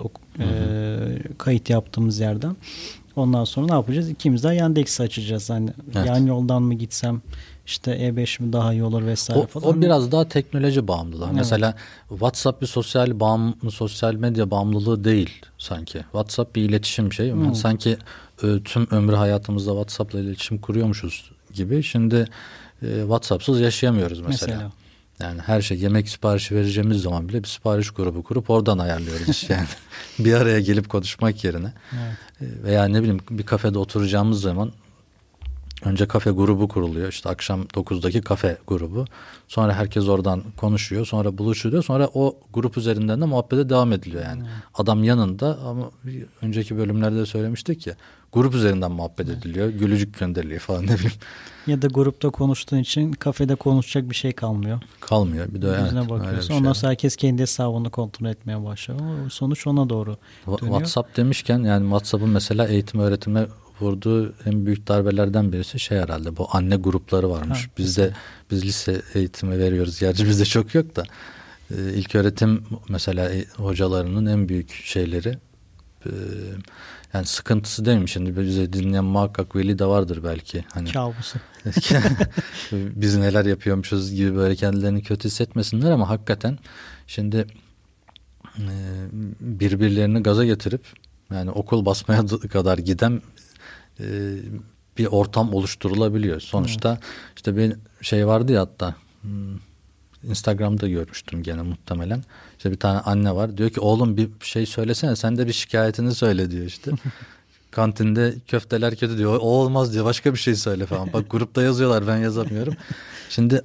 kayıt yaptığımız yerden. Ondan sonra ne yapacağız? İkimiz de Yandex'i açacağız. Hani yan yoldan mı gitsem, işte E5 mi daha iyi olur vesaire falan. O biraz daha teknoloji bağımlılığı. Evet. Mesela WhatsApp bir sosyal medya bağımlılığı değil sanki. WhatsApp bir iletişim şeyi. Sanki tüm ömrü hayatımızda WhatsApp'la iletişim kuruyormuşuz gibi. Şimdi WhatsApp'sız yaşayamıyoruz mesela. Yani her şey, yemek siparişi vereceğimiz zaman bile bir sipariş grubu kurup oradan ayarlıyoruz yani. Bir araya gelip konuşmak yerine. Evet. Veya ne bileyim bir kafede oturacağımız zaman Önce kafe grubu kuruluyor. İşte akşam 9'daki kafe grubu. Sonra herkes oradan konuşuyor. Sonra buluşuluyor. Sonra o grup üzerinden de muhabbete devam ediliyor yani. Adam yanında ama önceki bölümlerde söylemiştik ya. Grup üzerinden muhabbet ediliyor. Gülücük gönderiliyor falan, ne bileyim. Ya da grupta konuştuğun için kafede konuşacak bir şey kalmıyor. Kalmıyor. Bir de yüzüne bakıyorsun. Ondan sonra herkes kendi hesabını kontrol etmeye başlıyor. Sonuç ona doğru dönüyor. WhatsApp demişken, yani WhatsApp'ın mesela eğitim öğretime vurduğu en büyük darbelerden birisi şey herhalde, bu anne grupları varmış. Biz lise eğitimi veriyoruz. Gerçi bizde çok yok da. İlk öğretim mesela hocalarının en büyük şeyleri, yani sıkıntısı değil mi? Şimdi bize dinleyen muhakkak veli de vardır belki. Hani kabusu. biz neler yapıyormuşuz gibi böyle kendilerini kötü hissetmesinler ama hakikaten şimdi birbirlerini gaza getirip yani okul basmaya kadar giden bir ortam oluşturulabiliyor. Sonuçta işte bir şey vardı ya, hatta Instagram'da görmüştüm gene muhtemelen. İşte bir tane anne var. Diyor ki oğlum bir şey söylesene, sen de bir şikayetini söyle diyor işte. Kantinde köfteler kötü diyor. O olmaz diyor. Başka bir şey söyle falan. Bak grupta yazıyorlar, ben yazamıyorum. Şimdi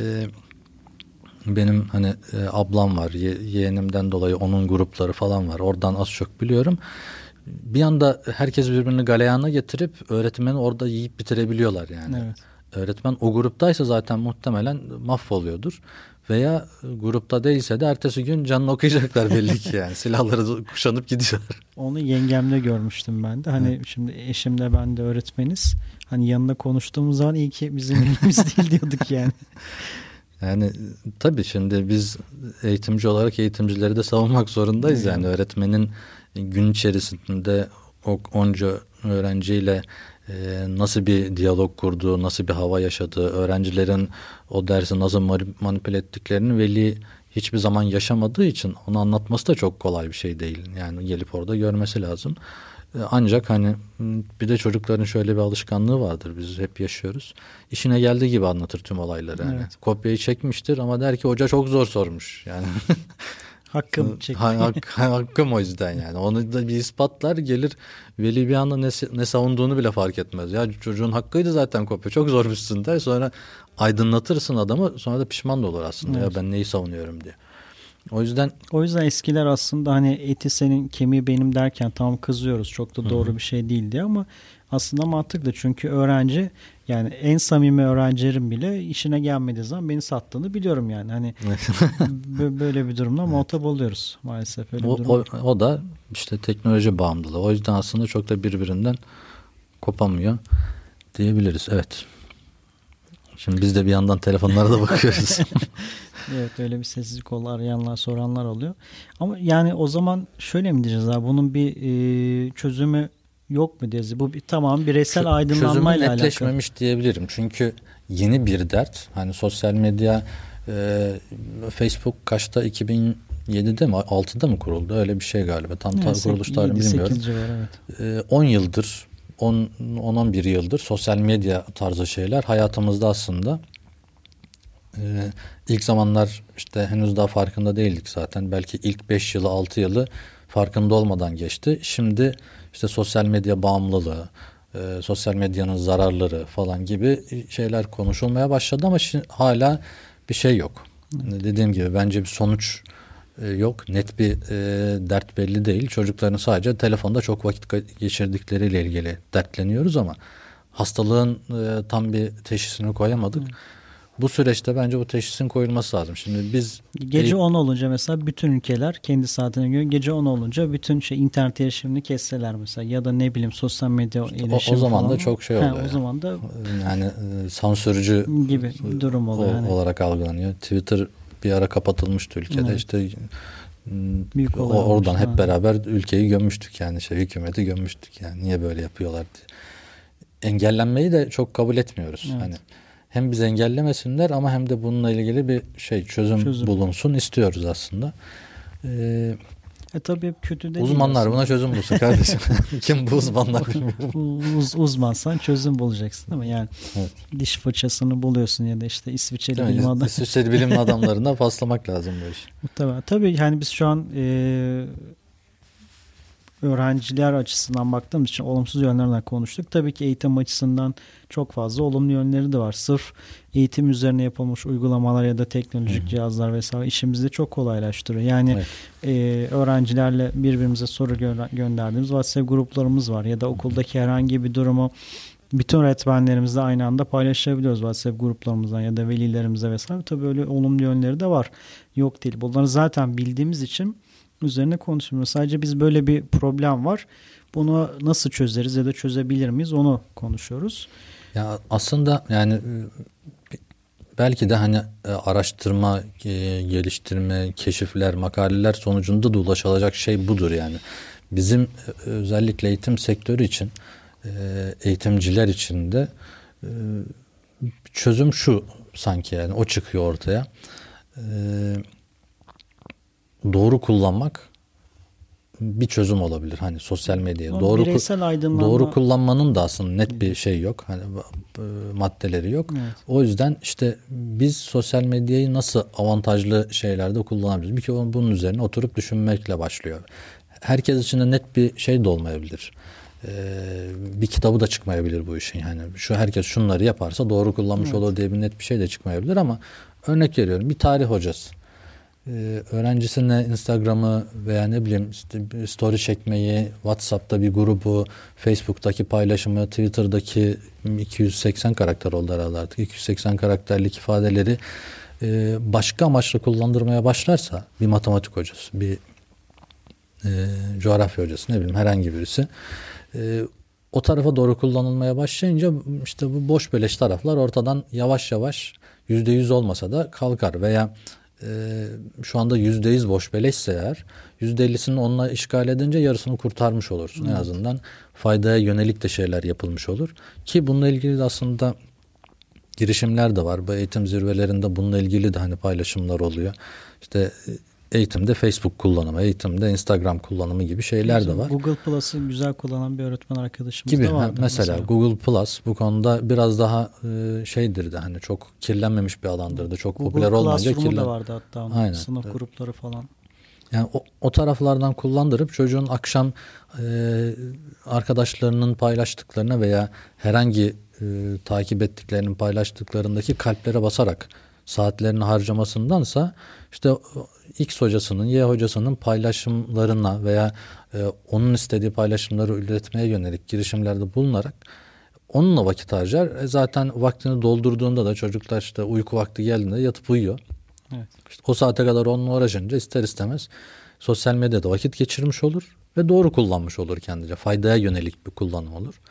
benim hani ablam var. Yeğenimden dolayı onun grupları falan var. Oradan az çok biliyorum. Bir anda herkes birbirini galeyana getirip öğretmeni orada yiyip bitirebiliyorlar yani. Evet. Öğretmen o gruptaysa zaten muhtemelen mahvoluyordur. Veya grupta değilse de ertesi gün canını okuyacaklar belli ki yani. Silahları kuşanıp gidiyorlar. Onu yengemle görmüştüm ben de. Hani şimdi eşimle ben de öğretmeniz. Hani yanında konuştuğumuz zaman iyi ki bizim elimiz değil diyorduk yani. Yani tabii şimdi biz eğitimci olarak eğitimcileri de savunmak zorundayız. Yani öğretmenin gün içerisinde onca öğrenciyle nasıl bir diyalog kurduğu, nasıl bir hava yaşadığı, öğrencilerin o dersi nasıl manipüle ettiklerini veli hiçbir zaman yaşamadığı için onu anlatması da çok kolay bir şey değil. Yani gelip orada görmesi lazım. Ancak hani bir de çocukların şöyle bir alışkanlığı vardır, biz hep yaşıyoruz. İşine geldiği gibi anlatır tüm olayları. Yani. Evet. Kopyayı çekmiştir ama der ki hoca çok zor sormuş. Yani hakkım çekti. Hakkım o yüzden yani. Onu da bir ispatlar, gelir veli bir anda ne savunduğunu bile fark etmez. Ya çocuğun hakkıydı zaten kopya. Çok zormuşsun der. Sonra aydınlatırsın adamı. Sonra da pişman da olur aslında. Evet. Ya ben neyi savunuyorum diye. O yüzden eskiler aslında hani eti senin kemiği benim derken tamam kızıyoruz. Çok da doğru bir şey değildi ama aslında mantıklı. Çünkü öğrenci, yani en samimi öğrencilerim bile işine gelmediği zaman beni sattığını biliyorum yani. Hani böyle bir durumda muhatap oluyoruz maalesef. Öyle bir durum. O da işte teknoloji bağımlılığı. O yüzden aslında çok da birbirinden kopamıyor diyebiliriz. Evet. Şimdi biz de bir yandan telefonlara da bakıyoruz. Evet, öyle bir sessizlik oldu, arayanlar soranlar oluyor. Ama yani o zaman şöyle mi diyeceğiz abi, bunun bir çözümü yok mu diyeceğiz? Bu tamam bireysel aydınlanmayla alakalı. Çözümü netleşmemiş diyebilirim. Çünkü yeni bir dert. Hani sosyal medya, Facebook kaçta, 2007'de mi 6'da mı kuruldu? Öyle bir şey galiba. Tam kuruluş tarihini bilmiyorum. Var, evet. 10 yıldır 10-11 yıldır sosyal medya tarzı şeyler hayatımızda aslında. İlk zamanlar işte henüz daha farkında değildik zaten. Belki ilk 5 yılı 6 yılı farkında olmadan geçti. Şimdi işte sosyal medya bağımlılığı, sosyal medyanın zararları falan gibi şeyler konuşulmaya başladı ama hala bir şey yok. Dediğim gibi bence bir sonuç yok. Net bir dert belli değil. Çocukların sadece telefonda çok vakit geçirdikleriyle ilgili dertleniyoruz ama hastalığın tam bir teşhisini koyamadık. Bu süreçte bence bu teşhisin koyulması lazım. Şimdi biz gece 10 olunca mesela bütün ülkeler kendi saatine göre gece 10 olunca bütün internet erişimini kesseler mesela, ya da ne bileyim sosyal medya erişimi o zaman falan. Da çok şey oluyor. O zaman da yani sansürcü gibi durum oluyor. Olarak algılanıyor. Twitter bir ara kapatılmıştı ülkede. Evet. İşte büyük oradan hep beraber ülkeyi gömmüştük yani, hükümeti gömmüştük yani, niye böyle yapıyorlar diye. Engellenmeyi de çok kabul etmiyoruz. Evet. Hani hem biz engellemesinler ama hem de bununla ilgili bir çözüm bulunsun istiyoruz aslında. Tabii kötü de uzmanlar buna çözüm bulsun kardeşim. Kim bu uzmanlar bilmiyorum. Uzmansan çözüm bulacaksın değil mi? Yani evet. Diş fırçasını buluyorsun ya da işte İsviçreli bilim adamları. İsviçreli bilim adamlarına paslamak lazım bu iş. Tabii yani biz şu an öğrenciler açısından baktığımız için olumsuz yönlerinden konuştuk. Tabii ki eğitim açısından çok fazla olumlu yönleri de var. Sırf eğitim üzerine yapılmış uygulamalar ya da teknolojik cihazlar vesaire işimizi çok kolaylaştırıyor. Yani öğrencilerle birbirimize soru gönderdiğimiz WhatsApp gruplarımız var ya da okuldaki herhangi bir durumu bütün öğretmenlerimizle aynı anda paylaşabiliyoruz WhatsApp gruplarımızdan ya da velilerimize vesaire. Tabii öyle olumlu yönleri de var. Yok değil. Bunları zaten bildiğimiz için üzerine konuşmuyoruz. Sadece biz böyle bir problem var. Bunu nasıl çözeriz ya da çözebilir miyiz onu konuşuyoruz. Ya aslında yani belki de hani araştırma, geliştirme, keşifler, makaleler sonucunda da ulaşılacak şey budur yani. Bizim özellikle eğitim sektörü için, eğitimciler için de çözüm şu sanki yani o çıkıyor ortaya. Doğru kullanmak bir çözüm olabilir. Hani sosyal medyayı doğru kullanmanın da aslında net bir şey yok. Hani maddeleri yok. Evet. O yüzden işte biz sosyal medyayı nasıl avantajlı şeylerde kullanabiliriz? Bir kere bunun üzerine oturup düşünmekle başlıyor. Herkes için de net bir şey de olmayabilir. Bir kitabı da çıkmayabilir bu işin. Yani herkes şunları yaparsa doğru kullanmış olur diye bir net bir şey de çıkmayabilir ama örnek veriyorum bir tarih hocası. Öğrencisine Instagram'ı veya ne bileyim işte story çekmeyi, WhatsApp'ta bir grubu, Facebook'taki paylaşımı, Twitter'daki 280 karakter oldu herhalde artık. 280 karakterlik ifadeleri başka amaçla kullandırmaya başlarsa bir matematik hocası, bir coğrafya hocası ne bileyim herhangi birisi o tarafa doğru kullanılmaya başlayınca işte bu boş beleş taraflar ortadan yavaş yavaş %100 olmasa da kalkar veya şu anda %100 boş beleşse eğer %50'sini onunla işgal edince yarısını kurtarmış olursun. En azından faydaya yönelik de şeyler yapılmış olur. Ki bununla ilgili de aslında girişimler de var. Bu eğitim zirvelerinde bununla ilgili de hani paylaşımlar oluyor. İşte eğitimde Facebook kullanımı, eğitimde Instagram kullanımı gibi şeyler de var. Google Plus'ı güzel kullanan bir öğretmen arkadaşımız gibi, da vardı. Mesela Google Plus bu konuda biraz daha şeydir de hani çok kirlenmemiş bir alandırdı. Çok Google popüler olmayınca Classroom'u da vardı hatta onun. Aynen. Sınıf grupları falan. Yani o taraflardan kullandırıp çocuğun akşam arkadaşlarının paylaştıklarına veya herhangi takip ettiklerinin paylaştıklarındaki kalplere basarak saatlerini harcamasındansa işte X hocasının, Y hocasının paylaşımlarına veya onun istediği paylaşımları üretmeye yönelik girişimlerde bulunarak onunla vakit harcar. Zaten vaktini doldurduğunda da çocuklar işte uyku vakti geldiğinde yatıp uyuyor. Evet. İşte o saate kadar onunla uğraşınca ister istemez sosyal medyada vakit geçirmiş olur ve doğru kullanmış olur kendince. Faydaya yönelik bir kullanım olur.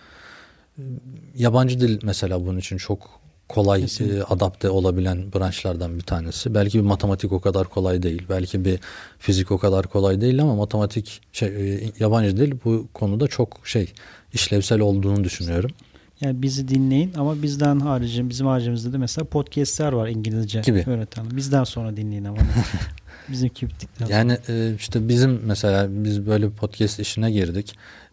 Yabancı dil mesela bunun için çok kolay adapte olabilen branşlardan bir tanesi. Belki bir matematik o kadar kolay değil. Belki bir fizik o kadar kolay değil ama matematik yabancı dil bu konuda çok işlevsel olduğunu düşünüyorum. Yani bizi dinleyin ama bizden harici, bizim haricimizde de mesela podcastler var İngilizce gibi öğreten. Bizden sonra dinleyin ama. Bizimki bittikten sonra. Yani işte bizim mesela biz böyle bir podcast işine girdik.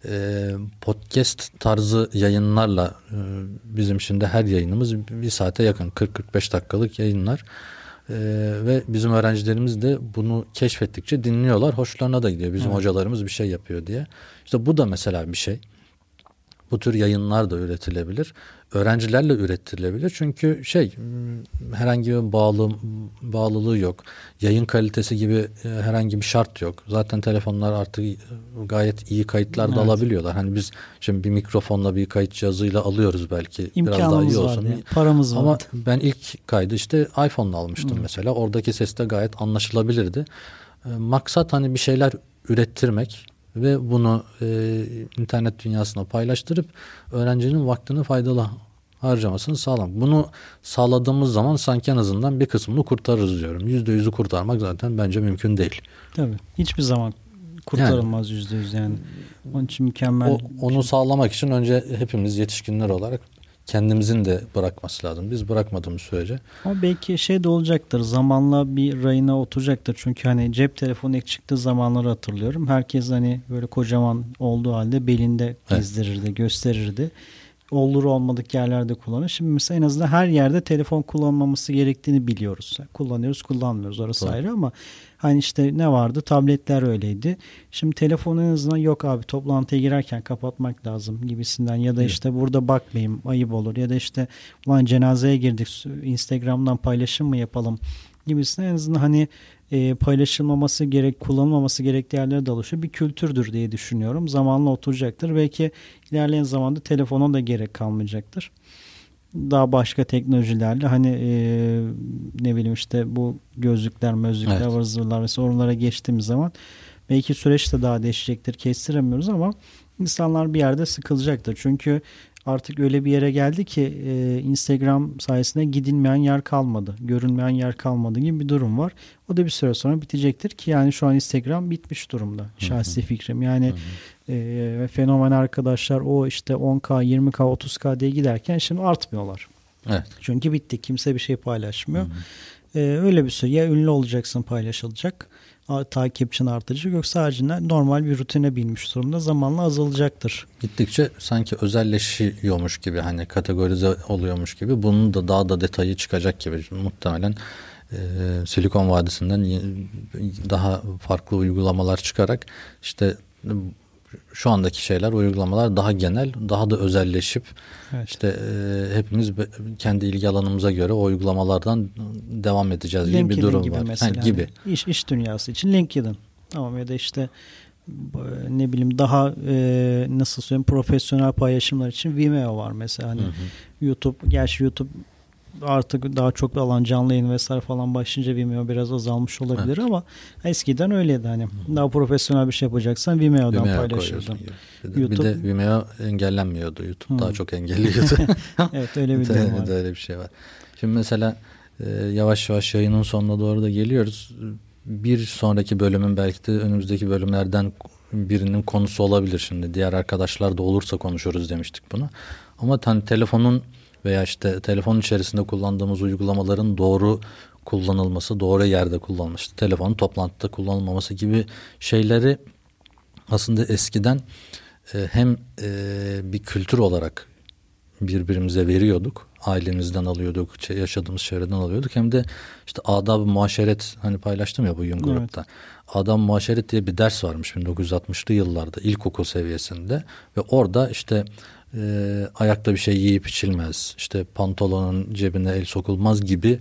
Podcast tarzı yayınlarla bizim şimdi her yayınımız bir saate yakın 40-45 dakikalık yayınlar. Ve bizim öğrencilerimiz de bunu keşfettikçe dinliyorlar. Hoşlarına da gidiyor. Bizim hocalarımız bir şey yapıyor diye. İşte bu da mesela bir şey. Bu tür yayınlar da üretilebilir. Öğrencilerle üretilebilir. Çünkü herhangi bir bağlılığı yok. Yayın kalitesi gibi herhangi bir şart yok. Zaten telefonlar artık gayet iyi kayıtlar da alabiliyorlar. Hani biz şimdi bir mikrofonla bir kayıt cihazıyla alıyoruz belki. İmkanımız biraz daha iyi olsun. Yani. Paramız var. Ama ben ilk kaydı işte iPhone'la almıştım mesela. Oradaki ses de gayet anlaşılabilirdi. Maksat hani bir şeyler ürettirmek ve bunu internet dünyasına paylaştırıp öğrencinin vaktini faydalı harcamasını sağlamak. Bunu sağladığımız zaman sanki en azından bir kısmını kurtarırız diyorum. %100'ü kurtarmak zaten bence mümkün değil. Tabii. Hiçbir zaman kurtarılmaz %100 yani. Onun için mükemmel. Onu sağlamak için önce hepimiz yetişkinler olarak kendimizin de bırakması lazım. Biz bırakmadığımız sürece. Ama belki de olacaktır. Zamanla bir rayına oturacaktır. Çünkü hani cep telefonu ilk çıktığı zamanları hatırlıyorum. Herkes hani böyle kocaman olduğu halde belinde gezdirirdi, gösterirdi. olur olmadık yerlerde kullanıyor. Şimdi mesela en azından her yerde telefon kullanılmaması gerektiğini biliyoruz. Kullanıyoruz, kullanmıyoruz, orası Doğru. ayrı ama hani işte ne vardı? Tabletler öyleydi. Şimdi telefonu en azından yok abi toplantıya girerken kapatmak lazım gibisinden ya da Evet. işte burada bakmayayım ayıp olur ya da işte ulan cenazeye girdik Instagram'dan paylaşım mı yapalım gibisinden en azından hani paylaşılmaması gerek, kullanılmaması gerektiği yerlere de oluşuyor. Bir kültürdür diye düşünüyorum. Zamanla oturacaktır. Belki ilerleyen zamanda telefona da gerek kalmayacaktır. Daha başka teknolojilerle hani ne bileyim işte bu gözlükler, mözlükler, Evet. ıvır zıvırlar mesela oralara geçtiğimiz zaman belki süreç de daha değişecektir. Kestiremiyoruz ama insanlar bir yerde sıkılacaktır. Çünkü artık öyle bir yere geldi ki Instagram sayesinde gidilmeyen yer kalmadı. Görünmeyen yer kalmadı gibi bir durum var. O da bir süre sonra bitecektir ki yani şu an Instagram bitmiş durumda. Şahsi fikrim. Yani fenomen arkadaşlar o işte 10K, 20K, 30K diye giderken şimdi artmıyorlar. Evet. Çünkü bitti. Kimse bir şey paylaşmıyor. Öyle bir süre. Ya ünlü olacaksın paylaşılacak. Takipçin artacak. Yoksa haricinde normal bir rutine binmiş durumda. Zamanla azalacaktır. Gittikçe sanki özelleşiyormuş gibi, hani kategorize oluyormuş gibi, bunun da daha da detayı çıkacak gibi. Muhtemelen Silikon Vadisi'nden daha farklı uygulamalar çıkarak işte şu andaki şeyler, uygulamalar daha genel, daha da özelleşip Evet. işte hepimiz kendi ilgi alanımıza göre o uygulamalardan devam edeceğiz gibi bir durum gibi var. mesela. Gibi. Hani iş dünyası için LinkedIn. Tamam ya da işte ne bileyim daha nasıl söyleyeyim profesyonel paylaşımlar için Vimeo var mesela. Hani YouTube, gerçi YouTube artık daha çok alan canlı yayın vesaire falan başlayınca Vimeo biraz azalmış olabilir ama eskiden öyleydi hani. Daha profesyonel bir şey yapacaksan Vimeo'dan paylaşırdın. Bir de Vimeo engellenmiyordu. YouTube daha çok engelliyordu. Evet, öyle bir durum var. Öyle bir şey var. Şimdi mesela yavaş yavaş yayının sonuna doğru da geliyoruz. Bir sonraki bölümün belki de önümüzdeki bölümlerden birinin konusu olabilir şimdi. Diğer arkadaşlar da olursa konuşuruz demiştik bunu. Ama hani telefonun veya işte telefon içerisinde kullandığımız uygulamaların doğru kullanılması, doğru yerde kullanılması, telefonun toplantıda kullanılmaması gibi şeyleri aslında eskiden hem bir kültür olarak birbirimize veriyorduk. Ailemizden alıyorduk, yaşadığımız çevreden alıyorduk. Hem de işte adab-ı muaşeret, hani paylaştım ya bugün grupta. Evet. Adab-ı muaşeret diye bir ders varmış 1960'lı yıllarda ilkokul seviyesinde ve orada işte ayakta bir şey yiyip içilmez, işte pantolonun cebine el sokulmaz gibi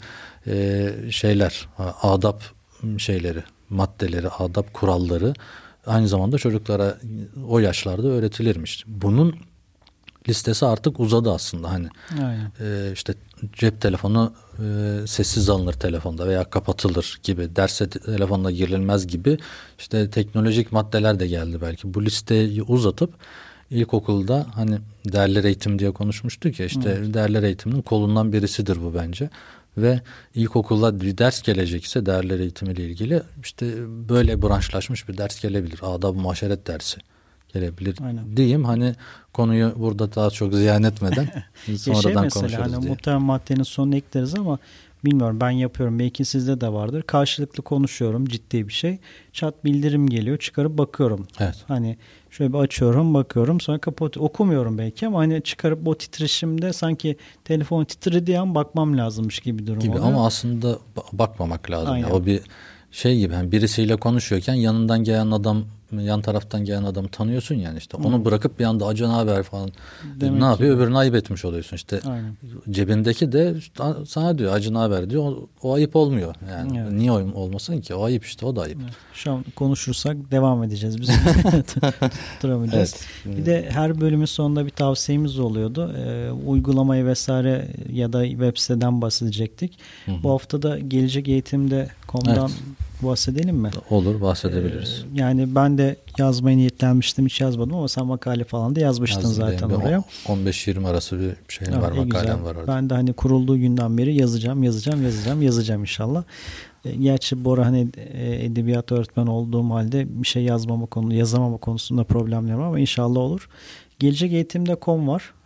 şeyler, adab şeyleri, maddeleri, adab kuralları aynı zamanda çocuklara o yaşlarda öğretilirmiş. Bunun listesi artık uzadı aslında, hani işte cep telefonu sessiz alınır telefonda veya kapatılır gibi, derse telefonla girilmez gibi işte teknolojik maddeler de geldi belki. Bu listeyi uzatıp ilkokulda hani değerler eğitim diye konuşmuştuk ya, işte değerler eğitiminin kolundan birisidir bu bence. Ve ilkokulda bir ders gelecekse değerler eğitimiyle ilgili işte böyle branşlaşmış bir ders gelebilir. Adab-ı muaşeret dersi gelebilir. Aynen. Diyeyim, hani konuyu burada daha çok ziyan etmeden sonradan konuşuruz hani diye. Muhtemelen maddenin sonuna ekleriz ama bilmiyorum, ben yapıyorum. Belki sizde de vardır. Karşılıklı konuşuyorum, ciddi bir şey. Chat bildirim geliyor. Çıkarıp bakıyorum. Evet. Hani şöyle bir açıyorum, bakıyorum. Sonra kapatıyorum. Okumuyorum belki ama hani çıkarıp o titreşimde sanki telefon titrediği an bakmam lazımmış gibi bir durum oluyor. Ama aslında bakmamak lazım. Ya. O bir şey gibi, hani birisiyle konuşuyorken yanından gelen adam, yan taraftan gelen adamı tanıyorsun yani, işte onu bırakıp bir anda acı haber falan demek ne yapıyor? Öbürünü ayıp etmiş oluyorsun işte. Aynen. Cebindeki de sana diyor acı haber diyor, o ayıp olmuyor yani. Evet. Niye olmasın ki? O ayıp işte, o da ayıp. Evet. Şu an konuşursak devam edeceğiz biz. Duramayacağız. Evet. Bir de her bölümün sonunda bir tavsiyemiz oluyordu. Uygulamayı vesaire ya da web siteden bahsedecektik. Bu hafta da gelecek eğitimde.com'dan bahsedelim mi? Olur, bahsedebiliriz. Yani ben de yazmaya niyetlenmiştim, hiç yazmadım ama sen makale falan da yazmıştın zaten oraya. 15-20 arası bir şey var, makalem var orada. Ben de hani kurulduğu günden beri yazacağım inşallah. Gerçi Bora hani edebiyat öğretmen olduğum halde bir şey yazamama konusunda problemler var ama inşallah olur. Gelecek eğitimde.com var.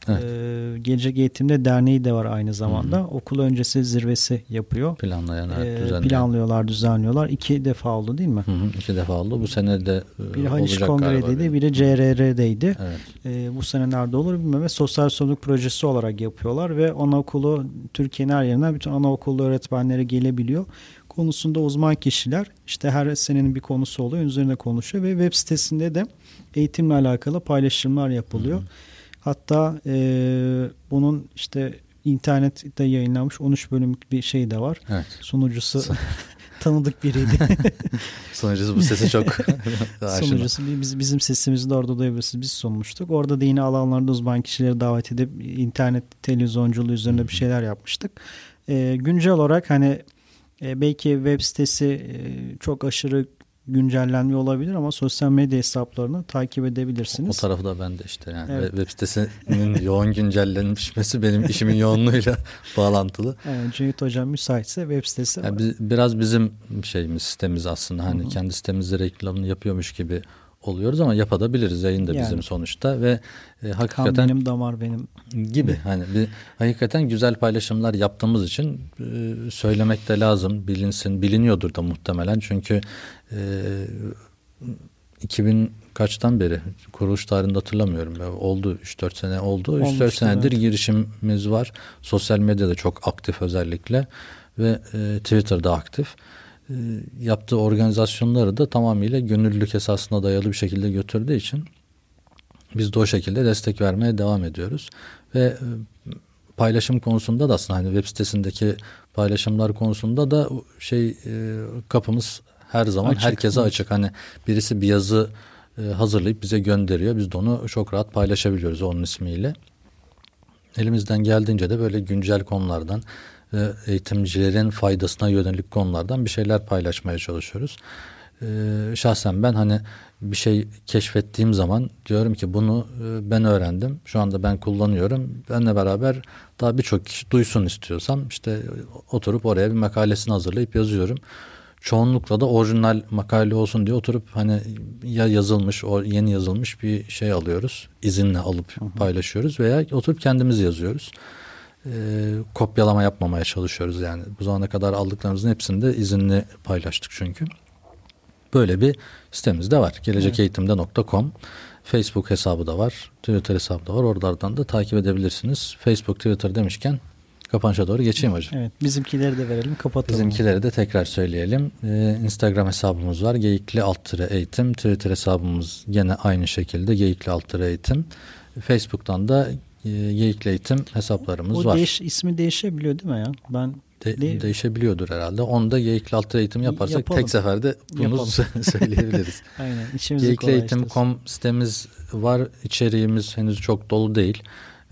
Evet. Gelecek Eğitim'de derneği de var aynı zamanda. Okul öncesi zirvesi yapıyor. Planlıyorlar, düzenliyorlar. 2 defa oldu değil mi? 2 defa oldu. Bu sene de biri Haliç Kongre'deydi, biri CRR'deydi. Evet. Bu sene nerede olur bilmiyorum. Ve sosyal sorumluluk projesi olarak yapıyorlar ve anaokulu Türkiye'nin her yerinden bütün anaokulu öğretmenleri gelebiliyor. Konusunda uzman kişiler, işte her senenin bir konusu oluyor, üzerine konuşuyor ve web sitesinde de eğitimle alakalı paylaşımlar yapılıyor. Hatta bunun işte internette yayınlanmış 13 bölümlük bir şey de var. Evet. Sunucusu tanıdık biriydi. Sunucusu bu sesi çok Sunucusu bizim sesimizi de orada duyabilirsiniz. Biz sunmuştuk. Orada da yine alanlarda uzman kişileri davet edip internet televizyonculuğu üzerine bir şeyler yapmıştık. Güncel olarak hani belki web sitesi çok aşırı güncellenmiyor olabilir ama sosyal medya hesaplarını takip edebilirsiniz. O tarafı da bende işte yani. Evet. Web sitesinin yoğun güncellenmesi benim işimin yoğunluğuyla bağlantılı. Evet, Cüneyt Hocam müsaitse web sitesi var. Biraz bizim sitemiz aslında. Hani kendi sitemizde reklamını yapıyormuş gibi oluyoruz ama yapabiliriz. Yayın da bizim sonuçta ve hakikaten kan benim, damar benim gibi. Hani hakikaten güzel paylaşımlar yaptığımız için söylemek de lazım. Biliniyordur da muhtemelen. Çünkü 2000 kaçtan beri kuruluş tarihinde hatırlamıyorum. Oldu 3-4 sene oldu. 3-4 senedir girişimimiz var. Sosyal medyada çok aktif özellikle ve Twitter'da aktif. Yaptığı organizasyonları da tamamıyla gönüllülük esasına dayalı bir şekilde götürdüğü için biz de o şekilde destek vermeye devam ediyoruz. Ve paylaşım konusunda da aslında hani web sitesindeki paylaşımlar konusunda da kapımız her zaman herkese açık. Hani birisi bir yazı hazırlayıp bize gönderiyor. Biz de onu çok rahat paylaşabiliyoruz onun ismiyle. Elimizden geldiğince de böyle güncel konulardan ve eğitimcilerin faydasına yönelik konulardan bir şeyler paylaşmaya çalışıyoruz. Şahsen ben hani bir şey keşfettiğim zaman diyorum ki bunu ben öğrendim. Şu anda ben kullanıyorum. Benle beraber daha birçok kişi duysun istiyorsam işte oturup oraya bir makalesini hazırlayıp yazıyorum. Çoğunlukla da orijinal makale olsun diye oturup hani ya yazılmış, yeni yazılmış bir şey alıyoruz. İzinle alıp paylaşıyoruz veya oturup kendimiz yazıyoruz. Kopyalama yapmamaya çalışıyoruz yani. Bu zamana kadar aldıklarımızın hepsini de izinli paylaştık çünkü. Böyle bir sitemiz de var. gelecekeğitimde.com Facebook hesabı da var. Twitter hesabı da var. Oralardan da takip edebilirsiniz. Facebook, Twitter demişken kapanışa doğru geçeyim hocam. Evet, bizimkileri de verelim, kapatalım. Bizimkileri de tekrar söyleyelim. Instagram hesabımız var. Geyikli_eğitim. Twitter hesabımız gene aynı şekilde Geyikli_eğitim. Facebook'tan da Geyikli Eğitim hesaplarımız var. İsmi değişebiliyor değil mi ya? Değişebiliyordur herhalde. Onu da Geyikli_eğitim yaparsak yapalım. Tek seferde bunu söyleyebiliriz. Aynen. Geyikli_eğitim.com sitemiz var. İçeriğimiz henüz çok dolu değil.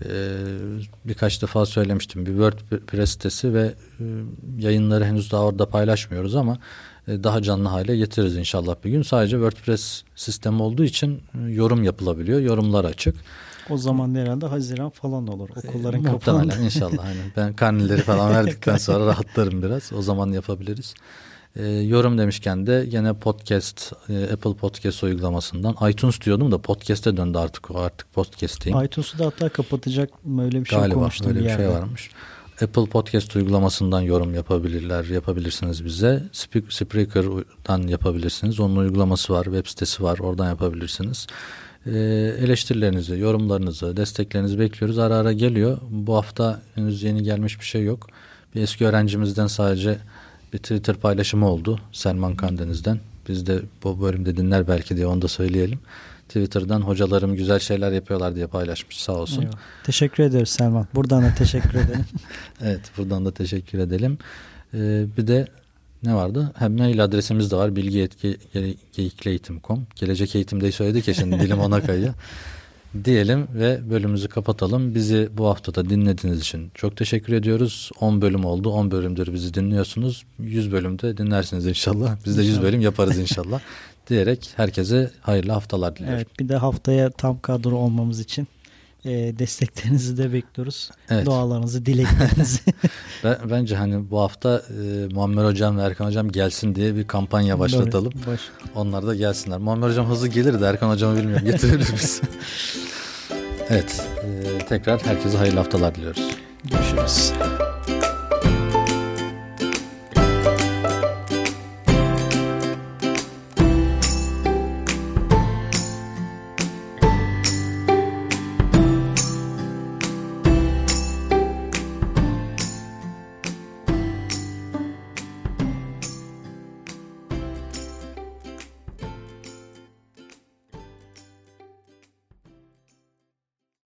Birkaç defa söylemiştim. Bir WordPress sitesi ve yayınları henüz daha orada paylaşmıyoruz ama daha canlı hale getiririz inşallah bir gün. Sadece WordPress sistemi olduğu için yorum yapılabiliyor. Yorumlar açık. O zaman herhalde Haziran falan olur. Okulların kapanında. Muhtemelen inşallah. Hani ben karneleri falan verdikten sonra rahatlarım biraz. O zaman yapabiliriz. Yorum demişken de yine podcast, Apple Podcast uygulamasından iTunes diyordum da podcast'e döndü artık podcast'teyim. iTunes'u da hatta kapatacak mı öyle bir şey galiba, konuştum. Galiba öyle bir şey varmış. Apple Podcast uygulamasından yorum yapabilirsiniz bize. Spreaker'dan yapabilirsiniz. Onun uygulaması var, web sitesi var. Oradan yapabilirsiniz. Eleştirilerinizi, yorumlarınızı, desteklerinizi bekliyoruz. Ara ara geliyor. Bu hafta henüz yeni gelmiş bir şey yok. Bir eski öğrencimizden sadece bir Twitter paylaşımı oldu. Selman Kandeniz'den. Biz de bu bölümde dinler belki diye onu da söyleyelim. Twitter'dan hocalarım güzel şeyler yapıyorlar diye paylaşmış, sağ olsun. Eyvallah. Teşekkür ederiz Selman. Buradan da teşekkür edelim. Evet, buradan da teşekkür edelim. Bir de ne vardı? Hem mail adresimiz de var. bilgi@geyikleeğitim.com. Gelecek eğitimde söyledik ya, şimdi dilim ona kayıyor. Diyelim ve bölümümüzü kapatalım. Bizi bu hafta da dinlediğiniz için çok teşekkür ediyoruz. 10 bölüm oldu. 10 bölümdür bizi dinliyorsunuz. 100 bölümde dinlersiniz inşallah. Biz de 100 bölüm yaparız inşallah. Diyerek herkese hayırlı haftalar diliyorum. Evet, bir de haftaya tam kadro olmamız için desteklerinizi de bekliyoruz. Evet. Dualarınızı, dileklerinizi. Bence hani bu hafta Muammer Hocam ve Erkan Hocam gelsin diye bir kampanya başlatalım. Onlar da gelsinler. Muammer Hocam hızlı gelir de Erkan Hocam'ı bilmiyorum. Getirir misin? Evet. Tekrar herkese hayırlı haftalar diliyoruz. Görüşürüz.